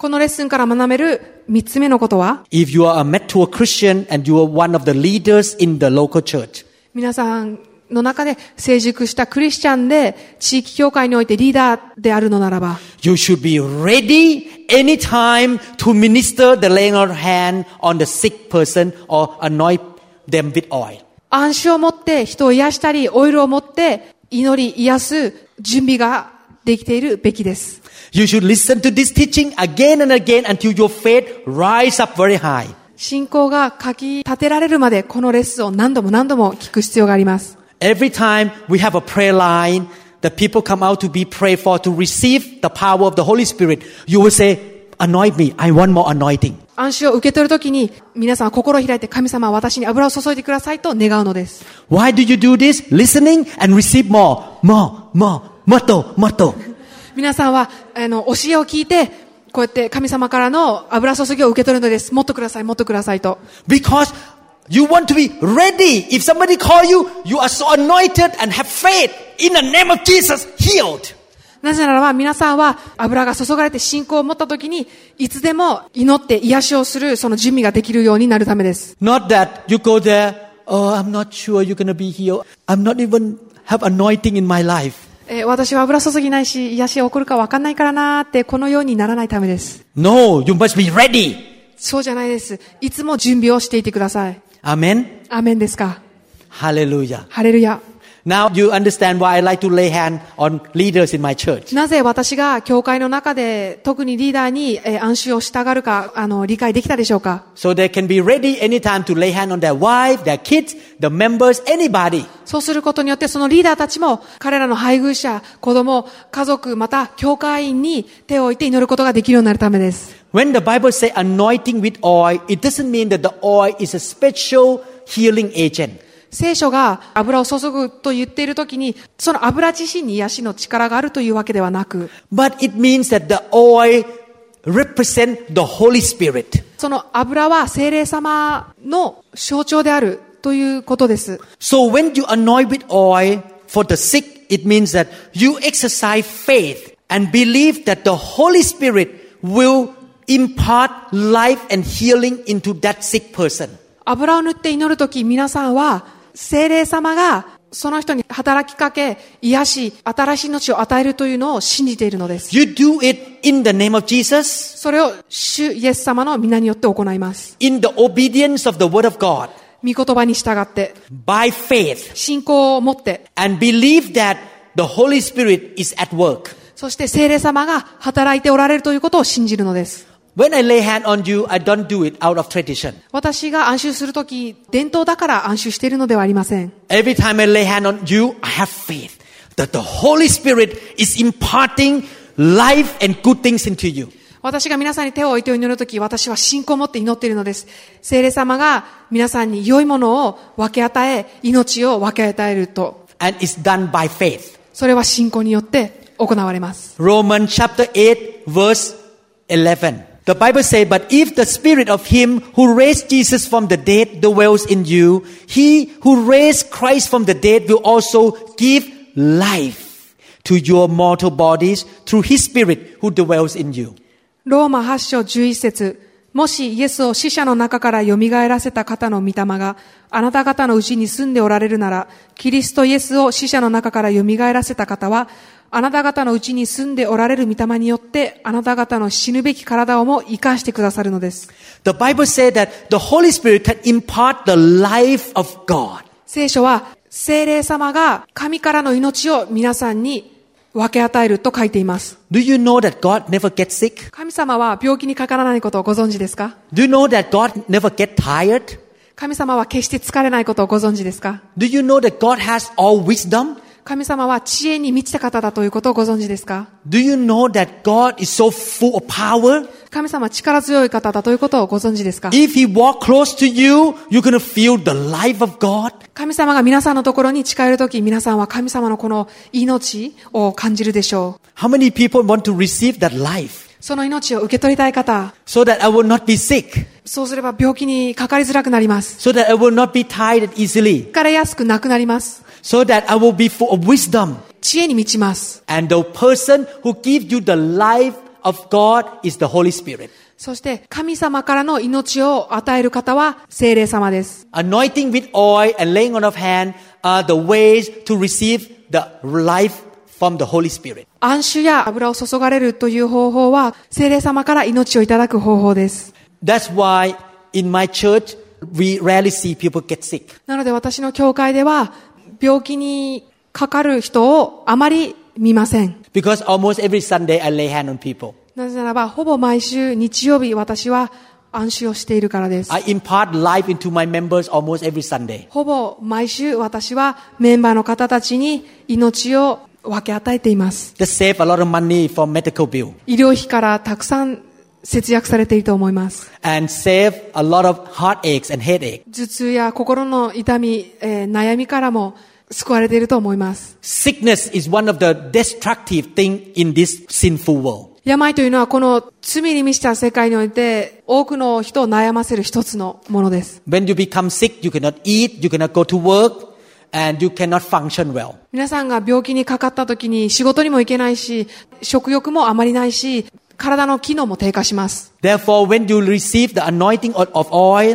このレッスンから学べる三つ目のことは、 If you are a mature Christian and you are one of the leaders in the local church, 皆さんの中で成熟したクリスチャンで地域教会においてリーダーであるのならば、 you should be ready anytime to minister the laying on of hand on the sick person or anoint them with oil. 暗視を持って人を癒したり、オイルを持って祈り癒す準備ができているべきです。 You should listen to this teaching again and again until your faith rise up very high. 信仰がかき立てられるまでこのレッスンを何度も何度も聞く必要があります。 Every time we have a prayer line, the people come out to be prayed for to receive the power of the Holy Spirit. You will say, anoint me. I want more anointing. 暗視を受け取るときに皆さんは心を開いて、神様は私に油を注いでくださいと願うのです。 Why do you do this? Listening and receive more, more, more, もっと、もっと。 皆さんはあの教えを聞いて、こうやって神様からの油注ぎを受け取るのです。もっとください、もっとくださいと。 Because you want to be ready. If somebody call you, you are so anointed and have faith in the name of Jesus, healed. なぜならば皆さんは油が注がれて信仰を持ったときに、いつでも祈って癒しをするその準備ができるようになるためです。 Not that you go there, oh, I'm not sure you're going to be healed. I'm not even have anointing in my life. えー、私は油注ぎないし、癒しが起こるか分かんないからなーってこのようにならないためです。 No, you must be ready. そうじゃないです。いつも準備をしていてください。 アーメン。 アーメンですか。 Hallelujah. ハレルヤ。 Now you understand why I like to lay hand on leaders in my church. なぜ私が教会の中で特にリーダーに、えー、暗視をしたがるか、あの、理解できたでしょうか。 So they can be ready anytime to lay hand on their wife, their kids, the members, anybody. そうすることによってそのリーダーたちも彼らの配偶者、子供、家族、また教会員に手を置いて祈ることができるようになるためです。 When the Bible says anointing with oil, it doesn't mean that the oil is a special healing agent. 聖書が油を注ぐと言っているときに、その油自身に癒しの力があるというわけではなく、 But it means that the oil represents the Holy Spirit. その油は聖霊様の象徴であるということです。 So when you anoint with oil for the sick, it means that you exercise faith and believe that the Holy Spirit will impart life and healing into that sick person. 油を塗って祈るとき、皆さんは聖霊様がその人に働きかけ、癒し、新しい命を与えるというのを信じているのです。 You do it in the name of Jesus. それを主イエス様の皆によって行います。 In the obedience of the word of God. 御言葉に従って、 by faith. 信仰を持って、 and believe that the Holy Spirit is at work. そして聖霊様が働いておられるということを信じるのです。 When I lay hand on you, I don't do it out of tradition. 私が暗衆するとき、伝統だから暗衆しているのではありません。 Every time I lay hand on you, I have faith that the Holy Spirit is imparting life and good things into you. 私が皆さんに手を置いて祈るとき、私は信仰を持って祈っているのです。聖霊様が皆さんに良いものを分け与え、命を分け与えると。 And it's done by faith. それは信仰によって行われます。 Romans chapter eight verse eleven. The Bible says, but if the spirit of him who raised Jesus from the dead dwells in you, he who raised Christ from the dead will also give life to your mortal bodies through his spirit who dwells in you. ローマはち章じゅういち節。もしイエスを死者の中から蘇らせた方の御霊があなた方のうちに住んでおられるなら、キリストイエスを死者の中から蘇らせた方は、あなた方のうちに住んでおられる御霊によって、あなた方の死ぬべき体をも生かしてくださるのです。 The Bible says that the Holy Spirit can impart the life of God. 聖書は、聖霊様が神からの命を皆さんに分け与えると書いています。 Do you know that God never gets sick? 神様は病気にかからないことをご存知ですか？ Do you know that God never gets tired? 神様は決して疲れないことをご存知ですか？ Do you know that God has all wisdom? 神様は知恵に満ちた方だということをご存知ですか？ Do you know that God is so full of power? 神様は力強い方だということをご存知ですか？ If He walk close to you, you're going to feel the life of God. 神様が皆さんのところに近寄るとき、皆さんは神様のこの命を感じるでしょう。 How many people want to receive that life? その命を受け取りたい方。 So that I will not be sick. そうすれば病気にかかりづらくなります。 So that I will not be tired easily. 疲れやすくなくなります。 So that I will be full of wisdom. 知恵に満ちます。 And the person who gives you the life of God is the Holy Spirit. そして神様からの命を与える方は聖霊様です。 Anointing with oil and laying on of hand are the ways to receive the life from the Holy Spirit. 暗酒や油を注がれるという方法は聖霊様から命をいただく方法です。 That's why in my church we rarely see people get sick. なので私の教会では病気にかかる人をあまり見ません。 Because almost every Sunday I lay hand on people. なぜならばほぼ毎週日曜日私は暗酒をしているからです。 I impart life into my members almost every Sunday. ほぼ毎週私はメンバーの方たちに命を分け与えています。 That save a lot of money for medical bill. 医療費からたくさん節約されていると思います。 And save a lot of heartaches and headache. 頭痛や心の痛み、えー、悩みからも救われていると思います。 Sickness is one of the destructive things in this sinful world. 病というのはこの罪に満ちた世界において多くの人を悩ませる一つのものです。 When you become sick, you cannot eat, you cannot go to work, and you cannot function well. 皆さんが病気にかかった時に仕事にも行けないし、食欲もあまりないし、体の機能も低下します。 Therefore, when you receive the anointing of oil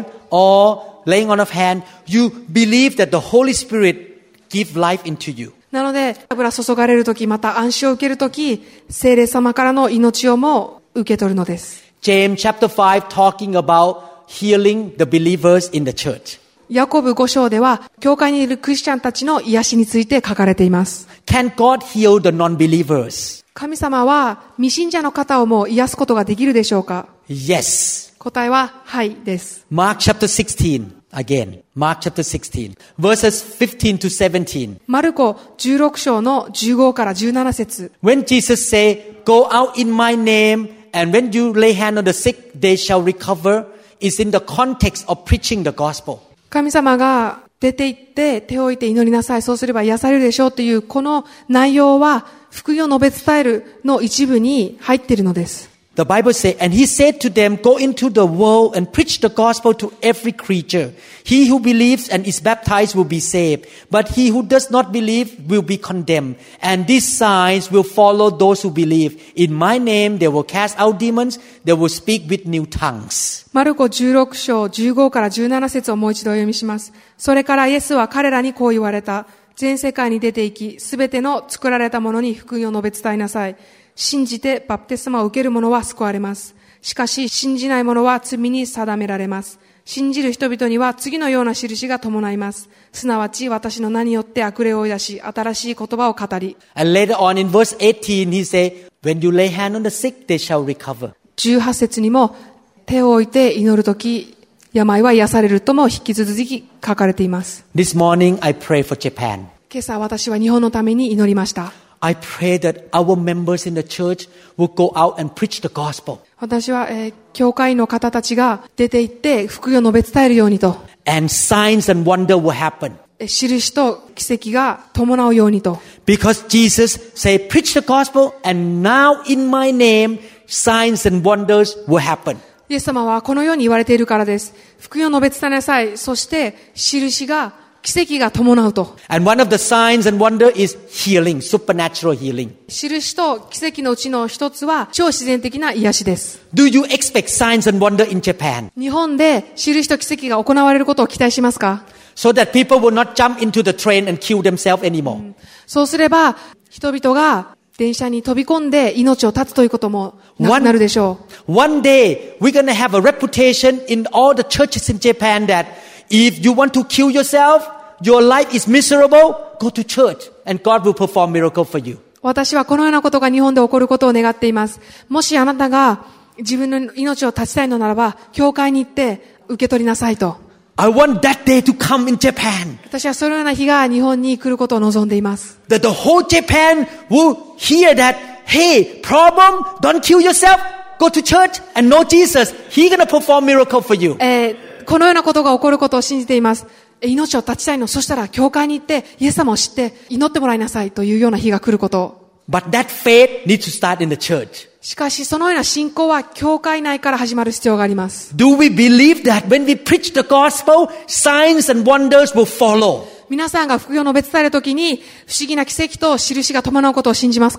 or laying on of hand, you believe that the Holy Spirit gives life into you. なので、油注がれるとき、また暗酒を受けるとき、聖霊様からの命をも受け取るのです。 James chapter five talking about healing the believers in the church. ヤコブご章では、教会にいるクリスチャンたちの癒しについて書かれています。 Can God heal the non-believers? 神様は未信者の方をも癒すことができるでしょうか？ Yes. 答えは、はいです。 Mark chapter sixteen. Again, Mark chapter sixteen, verses fifteen to seventeen. マルコじゅうろく章のじゅうごからじゅうなな節。 When Jesus say, "Go out in my name, and when you lay hand on the sick, they shall recover," is in the context of preaching the gospel. 神様が出て行って手を置いて祈りなさい、そうすれば癒されるでしょうというこの内容は福音を述べ伝えるの一部に入っているのです。 The Bible says, "And he said to them, Go into the world and preach the gospel to every creature. He who believes and is baptized will be saved, but he who does not believe will be condemned. And these signs will follow those who believe. In my name they will cast out demons, they will speak with new tongues." マルコじゅうろく章じゅうごからじゅうなな節をもう一度お読みします。それからイエスは彼らにこう言われた。全世界に出て行き、すべての作られたものに福音を述べ伝えなさい。信じてバプテスマを受ける者は救われます。しかし信じない者は罪に定められます。信じる人々には次のような印が伴います。すなわち私の名によって悪霊を追い出し、新しい言葉を語り。 And later on in verse eighteen, he said, "When you lay hand on the sick, they shall recover." じゅうはち節にも手を置いて祈るとき、病は癒されるとも引き続き書かれています。 This morning I pray for Japan. 今朝私は日本のために祈りました。 I pray that our members in the church will go out and preach the gospel. 私は、えー、教会の方たちが出て行って福音を述べ伝えるようにと。 And signs and wonder will happen. 印と奇跡が伴うようにと。 Because Jesus said, "Preach the gospel, and now in my name, signs and wonders will happen." イエス様はこのように言われているからです。福音を述べ伝えなさい。そして印が奇跡が伴うと。 And one of the signs and wonder is healing, supernatural healing. 印と奇跡のうちの一つは超自然的な癒しです。 Do you expect signs and wonder in Japan? 日本で印と奇跡が行われることを期待しますか？ So that people will not jump into the train and kill themselves anymore. そうすれば人々が電車に飛び込んで命を絶つということもなくなるでしょう。 One, one day we're going to have a reputation in all the churches in Japan that if you want to kill yourself, your life is miserable, go to church and God will perform miracle for you. 私はこのようなことが日本で起こることを願っています。もしあなたが自分の命を絶ちたいのならば、教会に行って受け取りなさいと。 I want that day to come in Japan. 私はそのような日が日本に来ることを望んでいます。 That the whole Japan will hear that, hey, problem, don't kill yourself, go to church and know Jesus. He's going to perform miracle for you. えー、このようなことが起こることを信じています。命を絶ちたいの。そしたら教会に行ってイエス様を知って祈ってもらいなさいというような日が来ることを。 But that faith needs to start in the church. しかしそのような信仰は教会内から始まる必要があります。 Do we believe that when we preach the gospel, signs and wonders will follow? 皆さんが福音を述べ伝えるときに不思議な奇跡と印が伴うことを信じますか？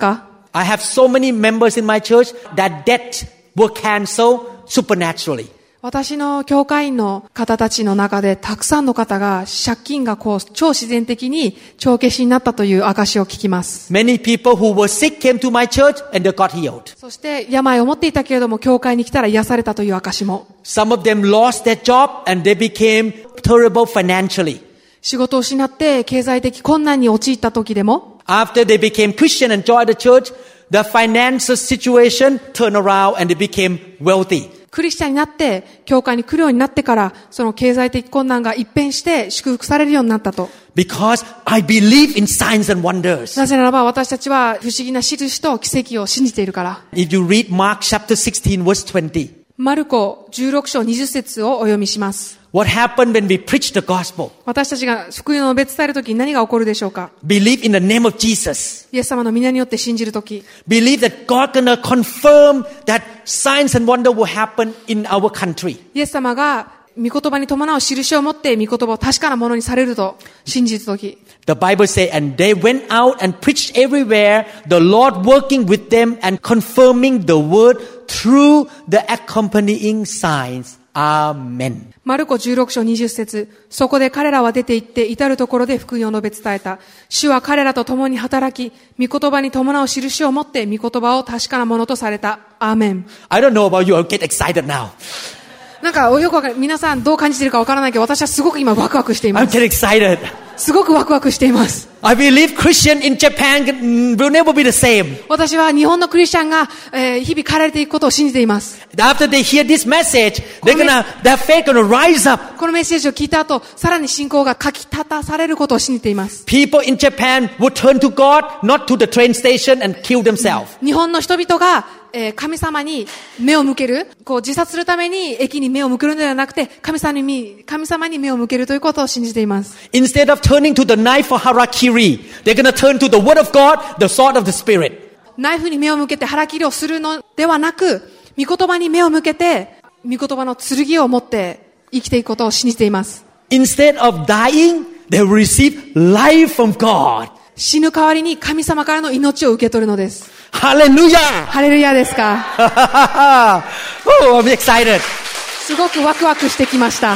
I have so many members in my church that debt were canceled supernaturally. 私の教会員の方たちの中でたくさんの方が借金がこう超自然的に帳消しになったという証を聞きます。 Many people who were sick came to my church and they got healed. そして病を持っていたけれども教会に来たら癒されたという証も。 Some of them lost their job and they became terrible financially. 仕事を失って経済的困難に陥った時でも。 After they became Christian and joined the church, the financial situation turned around and they became wealthy. クリスチャンになって教会に来るようになってからその経済的困難が一変して祝福されるようになったと。 Because I believe in signs and wonders. なぜならば私たちは不思議な印と奇跡を信じているから。 If you read Mark chapter sixteen verse twenty. マルコじゅうろく章にじゅっ節をお読みします。 What happened when we preach the gospel? 私たちが福音を述べ伝えるときに何が起こるでしょうか。 Believe in the name of Jesus. イエス様の皆によって信じるとき。 Believe that God gonna confirm that signs and wonder will happen in our country. イエス様が御言葉に伴う印を持って御言葉を確かなものにされると信じるとき。 The Bible says, and they went out and preached everywhere, the Lord working with them and confirming the word through the accompanying signs. Amen. マルコじゅうろく章にじゅっ節。そこで彼らは出て行って至るところで福音を述べ伝えた。主は彼らと共に働き、御言葉に伴う印を持って御言葉を確かなものとされた。アーメン。 I don't know about you, I'll get excited now. なんかよくわかる。皆さんどう感じているかわからないけど、私はすごく今ワクワクしていま I'm す。 getting excited. すごくワクワクしています。 I believe Christian in Japan will never be the same. 私は日本のクリスチャンが、えー、日々変えられていくことを信じています。 After they hear this message, they're gonna, their faith gonna rise up. このメッセージを聞いた後、さらに信仰がかき立たされることを信じています。 People in Japan will turn to God, not to the train station and kill themselves. 日本の人々が、えー、神様に目を向ける、こう自殺するために駅に目を向けるのではなくて、神様に、神様に目を向けるということを信じています。 Instead of turning to the knife for harakiri, they're gonna turn to the word of God, the sword of the Spirit. ナイフに目を向けて腹切りをするのではなく、御言葉に目を向けて、御言葉の剣を持って生きていくことを信じています。 Instead of dying, they will receive life from God. 死ぬ代わりに神様からの命を受け取るのです。 Hallelujah! ハレルヤですか。 Oh, I'm excited. すごくワクワクしてきました。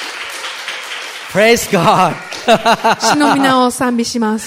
Praise God. 主の皆を賛美します。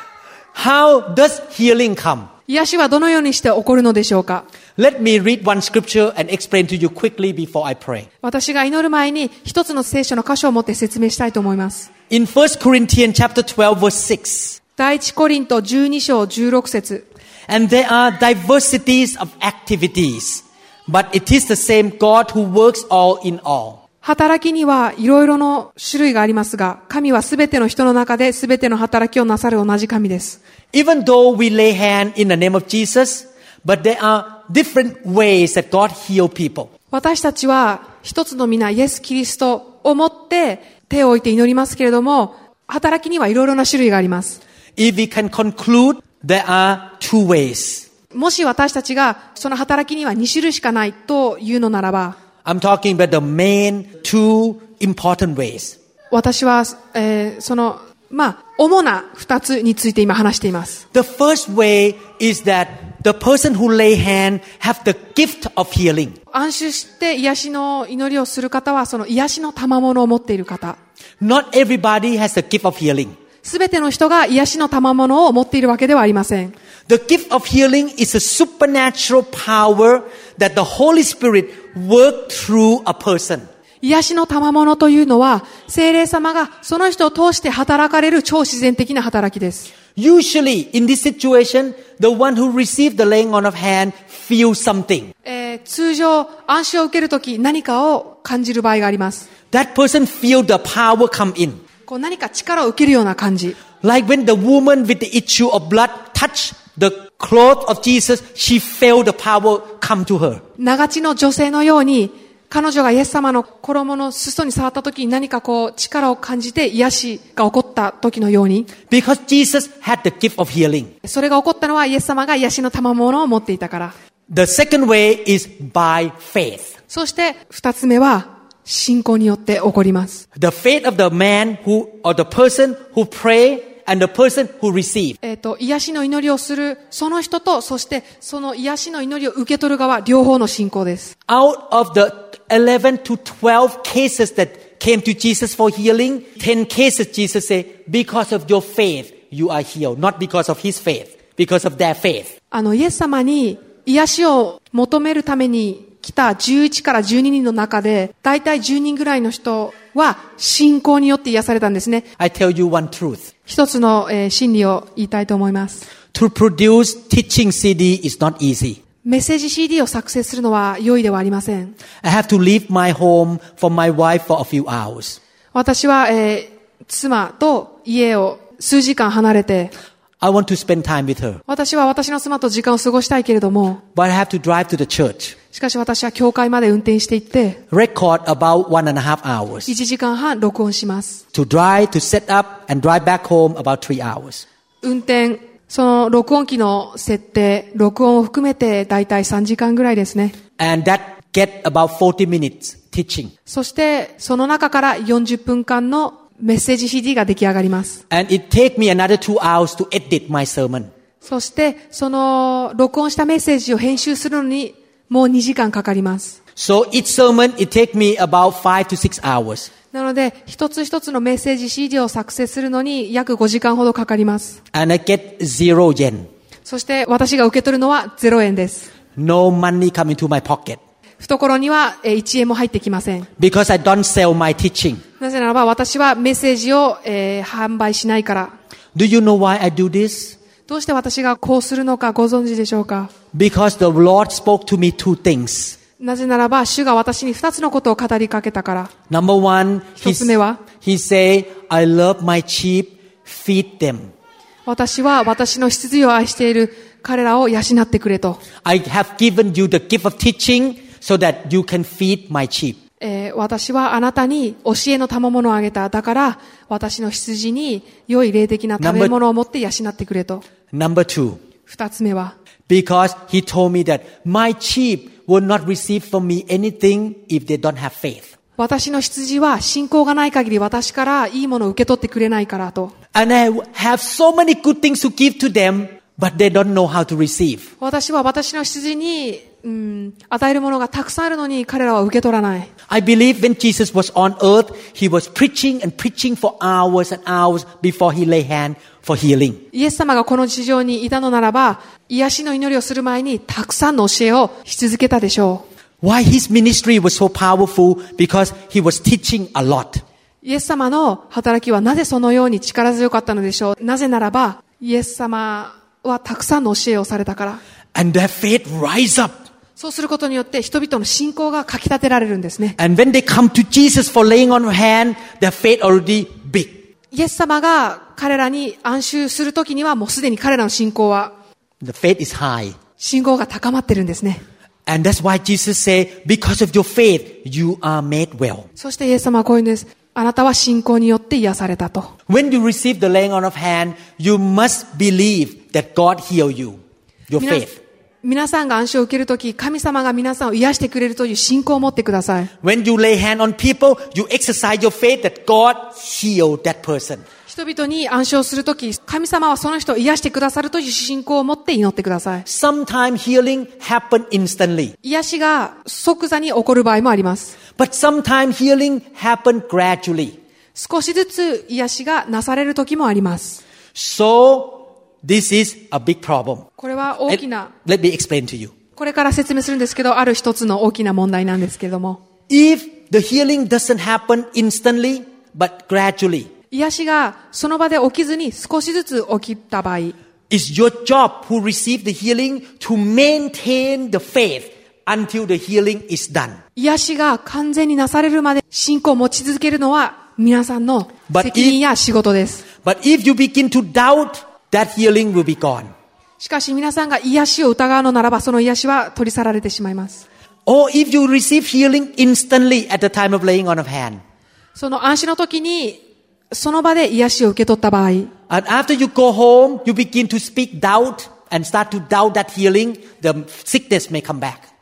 How does healing come? 癒しはどのようにして起こるのでしょうか。 Let me read one scripture and explain to you quickly before I pray. 私が祈る前に一つの聖書の箇所を持って説明したいと思います。 In First Corinthians chapter twelve verse six. 第一コリントじゅうに章じゅうろく節。 And there are diversities of activities, but it is the same God who works all in all. 働きにはいろいろの種類がありますが、神はすべての人の中ですべての働きをなさる同じ神です。 Even though we lay hand in the name of Jesus, but there are different ways that God heals people. 私たちは一つの皆イエス・キリストをもって手を置いて祈りますけれども、働きにはいろいろな種類があります。 If we can conclude, there are two ways. もし私たちがその働きにはに種類しかないというのならば、 I'm talking about the main two important ways. 私は、えー、その、まあ、主な二つについて今話しています。 The first way is that the person who lay hand have the gift of healing. 安心して癒しの祈りをする方はその癒しの賜物を持っている方。 Not everybody has the gift of healing. すべての人が癒しの賜物を持っているわけではありません。 The gift of healing is a supernatural power that the Holy Spirit works through a person. 癒しの賜物というのは、聖霊様がその人を通して働かれる超自然的な働きです。 Usually, in this situation, the one who received the laying on of hand feels something. えー、通常、安心を受けるとき何かを感じる場合があります。 That person feel the power come in. こう何か力を受けるような感じ。 Like when the woman with the issue of blood touched the cloth of Jesus, she felt the power come to her. 長血の女性のように、彼女がイエス様の衣の裾に触った時に何かこう力を感じて癒しが起こった時のように。 Because Jesus had the gift of healing. それが起こったのはイエス様が癒しの賜物を持っていたから。 The second way is by faith. そして二つ目は信仰によって起こります。 The faith of the man who or the person who pray and the person who received. えっと、癒しの祈りをするその人と、そしてその癒しの祈りを受け取る側、両方の信仰です。 Out of the eleven to twelve cases that came to Jesus for healing, ten cases Jesus said, because of your faith, you are healed. Not because of his faith, because of their faith. あの、イエス様に癒しを求めるために来たじゅういちからじゅうににんの中で、だいたいじゅうにんぐらいの人は信仰によって癒されたんですね。 I tell you one truth. 一つの、えー、真理を言いたいと思います。 To produce teaching シーディー is not easy. メッセージ シーディー を作成するのは容易ではありません。 I have to leave my home from my wife for a few hours. 私は、えー、妻と家を数時間離れて、 I want to spend time with her. 私は私の妻と時間を過ごしたいけれども、 But I have to drive to the church. しかし私は教会まで運転して行って、 Record about one and a half hours. いちじかんはん録音します。 To drive, to set up, and drive back home about three hours. 運転、その録音機の設定、録音を含めてだいたいさんじかんぐらいですね。 And that get about forty minutes teaching. そしてその中からよんじゅっぷんかんのメッセージ シーディー が出来上がります。 And it take me another two hours to edit my sermon. そしてその録音したメッセージを編集するのにもうにじかんかかります。 So each sermon it take me about five to six hours. なので一つ一つのメッセージ シーディー を作成するのに約ごじかんほどかかります。 And I get zero yen. そして私が受け取るのはゼロえんです。 No money come into my pocket. 懐にはいちえんも入ってきません。 Because I don't sell my teaching. なぜならば私はメッセージを、えー、販売しないから。 Do you know why I do this? どうして私がこうするのかご存知でしょうか？ Because the Lord spoke to me two things. なぜならば主が私に二つのことを語りかけたから。 Number one, 一つ目は He say, I love my sheep, feed them. 私は私の羊を愛している彼らを養ってくれと。 I have given you the gift of teaching so that you can feed my sheep. えー、私はあなたに教えの賜物をあげた。だから私の羊に良い霊的な食べ物を持って養ってくれと。 Number two. 二つ目は Because he told me that my sheep will not receive from me anything if they don't have faith. 私の羊は信仰がない限り私からいいものを受け取ってくれないからと。 And I have so many good things to give to them, but they don't know how to receive. 私は私の羊に、うん、与えるものがたくさんあるのに彼らは受け取らない。 I believe when Jesus was on earth, he was preaching and preaching for hours and hours before he lay hand for healing. イエス様がこの地上にいたのならば、癒しの祈りをする前にたくさんの教えをし続けたでしょう。 Why his ministry was so powerful? Because he was teaching a lot. イエス様の働きはなぜそのように力強かったのでしょう。なぜならば、イエス様はたくさんの教えをされたから。 And their faith rise up. そうすることによって人々の信仰がかき立てられるんですね。 And when they come to Jesus for laying on hand, their faith already big. イエス様が彼らに安収するときにはもうすでに彼らの信仰は The faith is high. 信仰が高まってるんですね。 And that's why Jesus said, because of your faith, you are made well. そしてイエス様はこういうんです。あなたは信仰によって癒されたと。 When you receive the laying on of hand, you must believe that God heal you. Your faith. 皆さんが安息を受けるとき、神様が皆さんを癒してくれるという信仰を持ってください。 When you lay hand on people, you exercise your faith that God healed that person. 人々に安息をするとき、神様はその人を癒してくださるという信仰を持って祈ってください。 Sometimes healing happen instantly. 癒しが即座に起こる場合もあります。 But sometimes healing happen gradually. 少しずつ癒しがなされるときもあります。 So, this is a big problem. これは大きな、 Let, let me explain to you. これから説明するんですけど、ある一つの大きな問題なんですけれども。 If the healing doesn't happen instantly, but gradually, 癒しがその場で起きずに少しずつ起きた場合、 it's your job who receive the healing to maintain the faith until the healing is done. 癒しが完全になされるまで信仰を持ち続けるのは皆さんの責任や仕事です。 But if you begin to doubt, that healing will be gone. しかし皆さんが癒しを疑うのならば、その癒しは取り去られてしまいます。 Or if you receive healing instantly at the time of laying on of hand. その安息の時にその場で癒しを受け取った場合、 And after you go home, you begin to speak doubt and start to doubt that healing, the sickness may come back.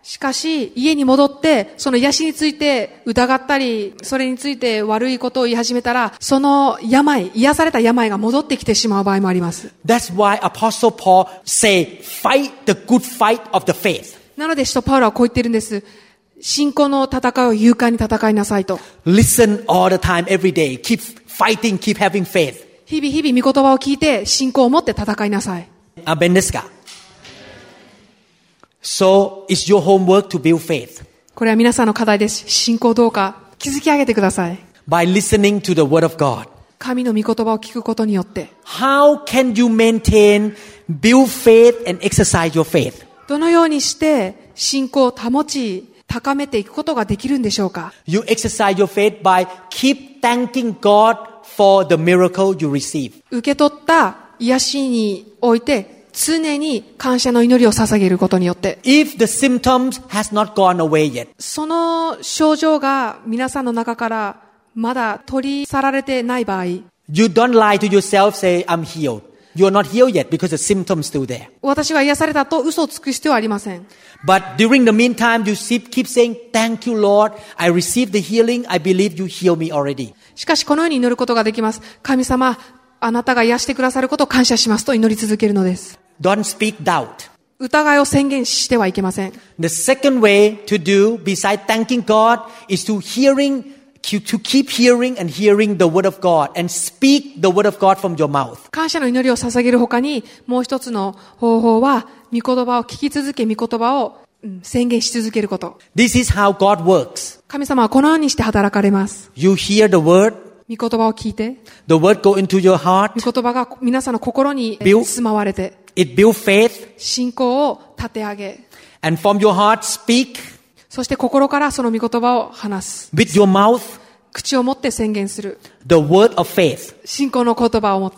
しかし、家に戻って、その癒しについて疑ったり、それについて悪いことを言い始めたら、その病、癒された病が戻ってきてしまう場合もあります。 That's why Apostle Paul say, fight the good fight of the faith. なので、使徒パウロはこう言ってるんです。信仰の戦いを勇敢に戦いなさいと。 Listen all the time, every day. Keep fighting, keep having faith. 日々日々御言葉を聞いて、信仰を持って戦いなさい。 アメンですか? So, it's your homework to build faith. これは皆さんの課題です。信仰どうか築き上げてください。 By listening to the word of God. 神の御言葉を聞くことによって。 How can you maintain, build faith and exercise your faith? どのようにして信仰を保ち、高めていくことができるんでしょうか? You exercise your faith by keep thanking God for the miracle you receive. 受け取った癒しにおいて、常に感謝の祈りを捧げることによって。 If the symptoms has not gone away yet. その症状が皆さんの中からまだ取り去られてない場合。 You don't lie to yourself, say, I'm healed. You are not healed yet because the symptoms still there. 私は癒されたと嘘をつく必要はありません。 But during the meantime, you keep saying, Thank you, Lord. I received the healing. I believe you healed me already. しかしこのように祈ることができます。神様、あなたが癒してくださることを感謝しますと祈り続けるのです。 Don't speak doubt. 疑いを宣言してはいけません。 The second way to do, besides thanking God, is to hearing, to keep hearing and hearing the word of God and speak the word of God from your mouth. 感謝の祈りを捧げるほかに、もう一つの方法は、御言葉を聞き続け、御言葉を、うん、宣言し続けること。 This is how God works. 神様はこのようにして働かれます。 You hear the word. 御言葉を聞いて。 The word go into your heart. 御言葉が皆さんの心に住まわれて。 It builds faith. 信仰を立て上げ。 And from your heart speak. そして心からその御言葉を話す。 With your mouth. 口を持って宣言する。 The word of faith. 信仰の言葉を持って。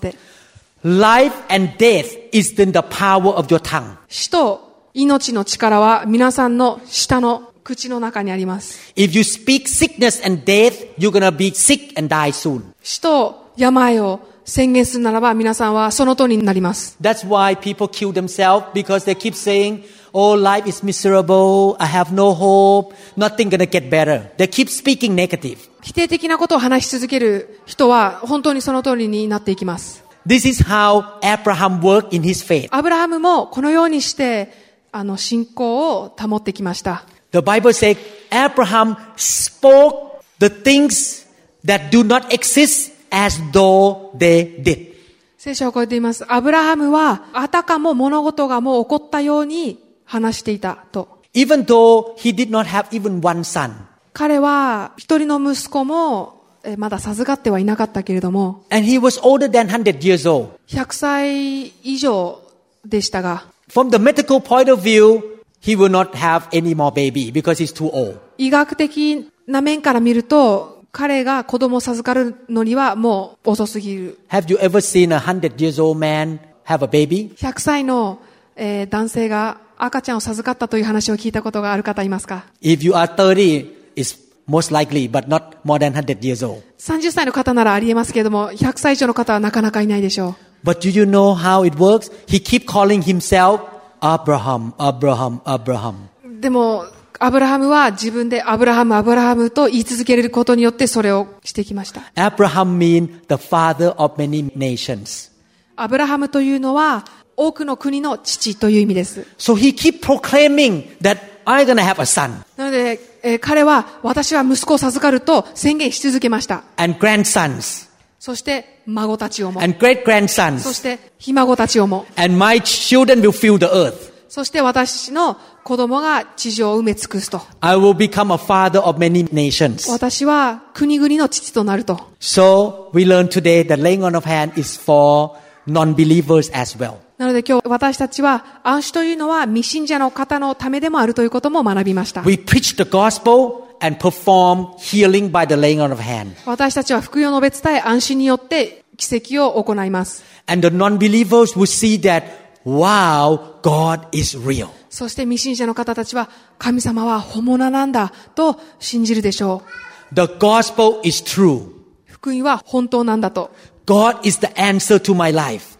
Life and death is in the power of your tongue. 死と命の力は皆さんの舌の口の中にあります。 If you speak sickness and death, you're gonna be sick and die soon. 死と病を宣言するならば皆さんはその通りになります。 That's why people kill themselves because they keep saying, "Oh, life is miserable. I have no hope. Nothing gonna get better." They keep speaking negative. 否定的なことを話し続ける人は本当にその通りになっていきます。 This is how Abraham worked in his faith. アブラハムもこのようにしてあの信仰を保ってきました。 The Bible says Abraham spoke the things that do not exist as though they did. 聖書はこう言っています。アブラハムはあたかも物事がもう起こったように話していたと。 Even though he did not have even one son. 彼は一人の息子もまだ授かってはいなかったけれども。 And he was older than one hundred years old. ひゃくさい以上でしたが。 From the medical point of view, he will not have any more baby because he's too old. 医学的な面から見ると、彼が子供を授かるのにはもう遅すぎる。 Have you ever seen a hundred years old man have a baby? ひゃくさいの、えー、男性が赤ちゃんを授かったという話を聞いたことがある方いますか? If you are thirty, it's most likely, but not more than one hundred years old. さんじゅっさいの方ならありえますけれども、ひゃくさい以上の方はなかなかいないでしょう。 But do you know how it works? He keep calling himself Abraham, Abraham, Abraham. でも、アブラハムは自分でアブラハム、アブラハムと言い続けることによってそれをしてきました。 Abraham means the father of many nations. アブラハムというのは多くの国の父という意味です。 So he keep proclaiming that I'm gonna have a son. なので、えー、彼は私は息子を授かると宣言し続けました。 And grandsons. そして孫たちをも。 And great grandsons. そしてひ孫たちをも。 And my children will fill the earth. そして私の子供が地上を埋め尽くすと。 I will become a father of many nations. 私は国々の父となると。 So we learn today that laying on of hand is for non-believers as well. なので今日私たちは暗視というのは未信者の方のためでもあるということも学びました。 We preach the gospel and perform healing by the laying on of hand. 私たちは福音を述べ伝え暗視によって奇跡を行います。 And the non-believers will see that,Wow, God is real. そして未信者の方たちは神様は本物なんだと信じるでしょう。 The gospel is true. 福音は本当なんだと。 God is the answer to my life.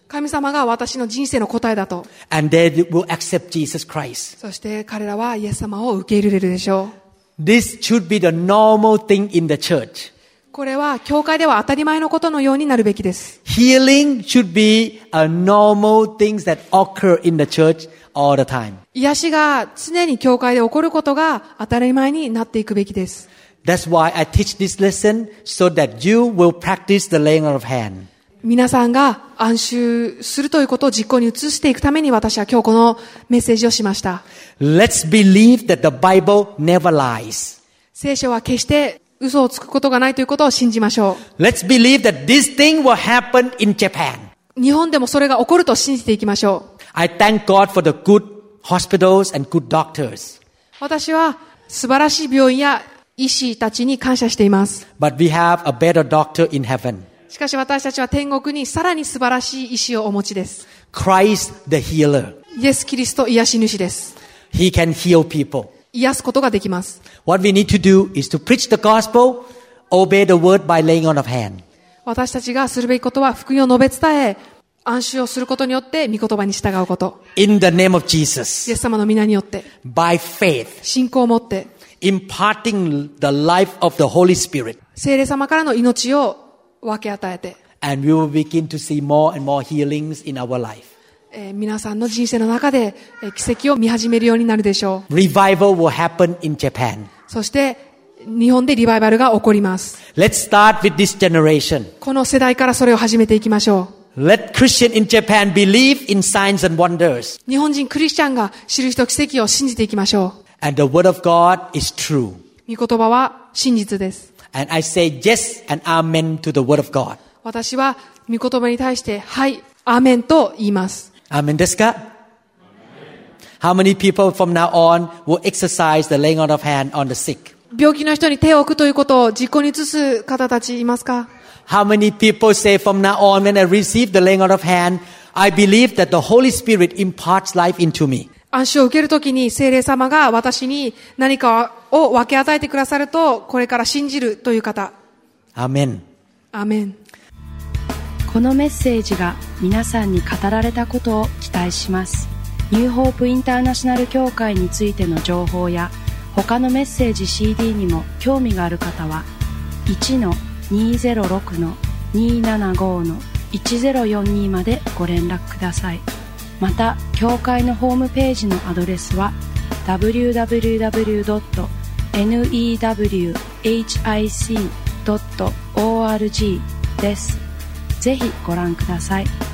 神様が私の人生の答えだと。 And they will accept Jesus Christ. そして彼らはイエス様を受け入れるでしょう。 This should be the normal thing in the church. これは教会では当たり前のことのようになるべきです。 Healing should be a normal thing that occur in the church all the time. 癒しが常に教会で起こることが当たり前になっていくべきです。 That's why I teach this lesson so that you will practice the laying on of hand. 皆さんが安収するということを実行に移していくために私は今日このメッセージをしました。 Let's believe that the Bible never lies. 聖書は決して嘘をつくことがないということを信じましょう。Let's believe that this thing will happen in Japan. 日本でもそれが起こると信じていきましょう。 I thank God for the good hospitals and good doctors. 私は素晴らしい病院や医師たちに感謝しています。 But we have a better doctor in heaven. しかし私たちは天国にさらに素晴らしい医師をお持ちです。 Christ the healer. イエス・キリスト癒し主です。 He can heal people. 癒すことができます。 What we need to do is to preach the gospel, obey the word by laying on of hand. 私たちがするべきことは福音を述べ伝え、安心をすることによって御言葉に従うこと。 In the name of イエ Jesus. ス様の皆によって。 By faith. 信仰を持って。 Imparting the life of the Holy Spirit. 聖霊様からの命を分け与えて。 And we will begin to see more and more healings in our life. えー、皆さんの人生の中で、えー、奇跡を見始めるようになるでしょう。 Revival will happen in Japan. そして日本でリバイバルが起こります。 Let's start with this generation. この世代からそれを始めていきましょう。Let Christians in Japan believe in signs and wonders. 日本人クリスチャンが印と奇跡を信じていきましょう。 And the word of God is true. 御言葉は真実です。 And I say yes and amen to the word of God. 私は御言葉に対してはいアーメンと言います。 アーメンですか？ How many people from now on will exercise the laying on of hand on the sick? 病気の人に手を置くということを実行に移す方たちいますか？ How many people say from now on when I receive the laying on of hand, I believe that the Holy Spirit imparts life into me? 安心を受けるときに聖霊様が私に何かを分け与えてくださるとこれから信じるという方。 アーメン。 アーメン。 このメッセージが皆さんに語られたことを期待します。ニューホープインターナショナル協会についての情報や他のメッセージ シーディー にも興味がある方は いちのにーぜろろくのにーななごのいちぜろよんに までご連絡ください。また協会のホームページのアドレスは ダブリューダブリューダブリュードットニューホープドットオーアールジー です。ぜひご覧ください。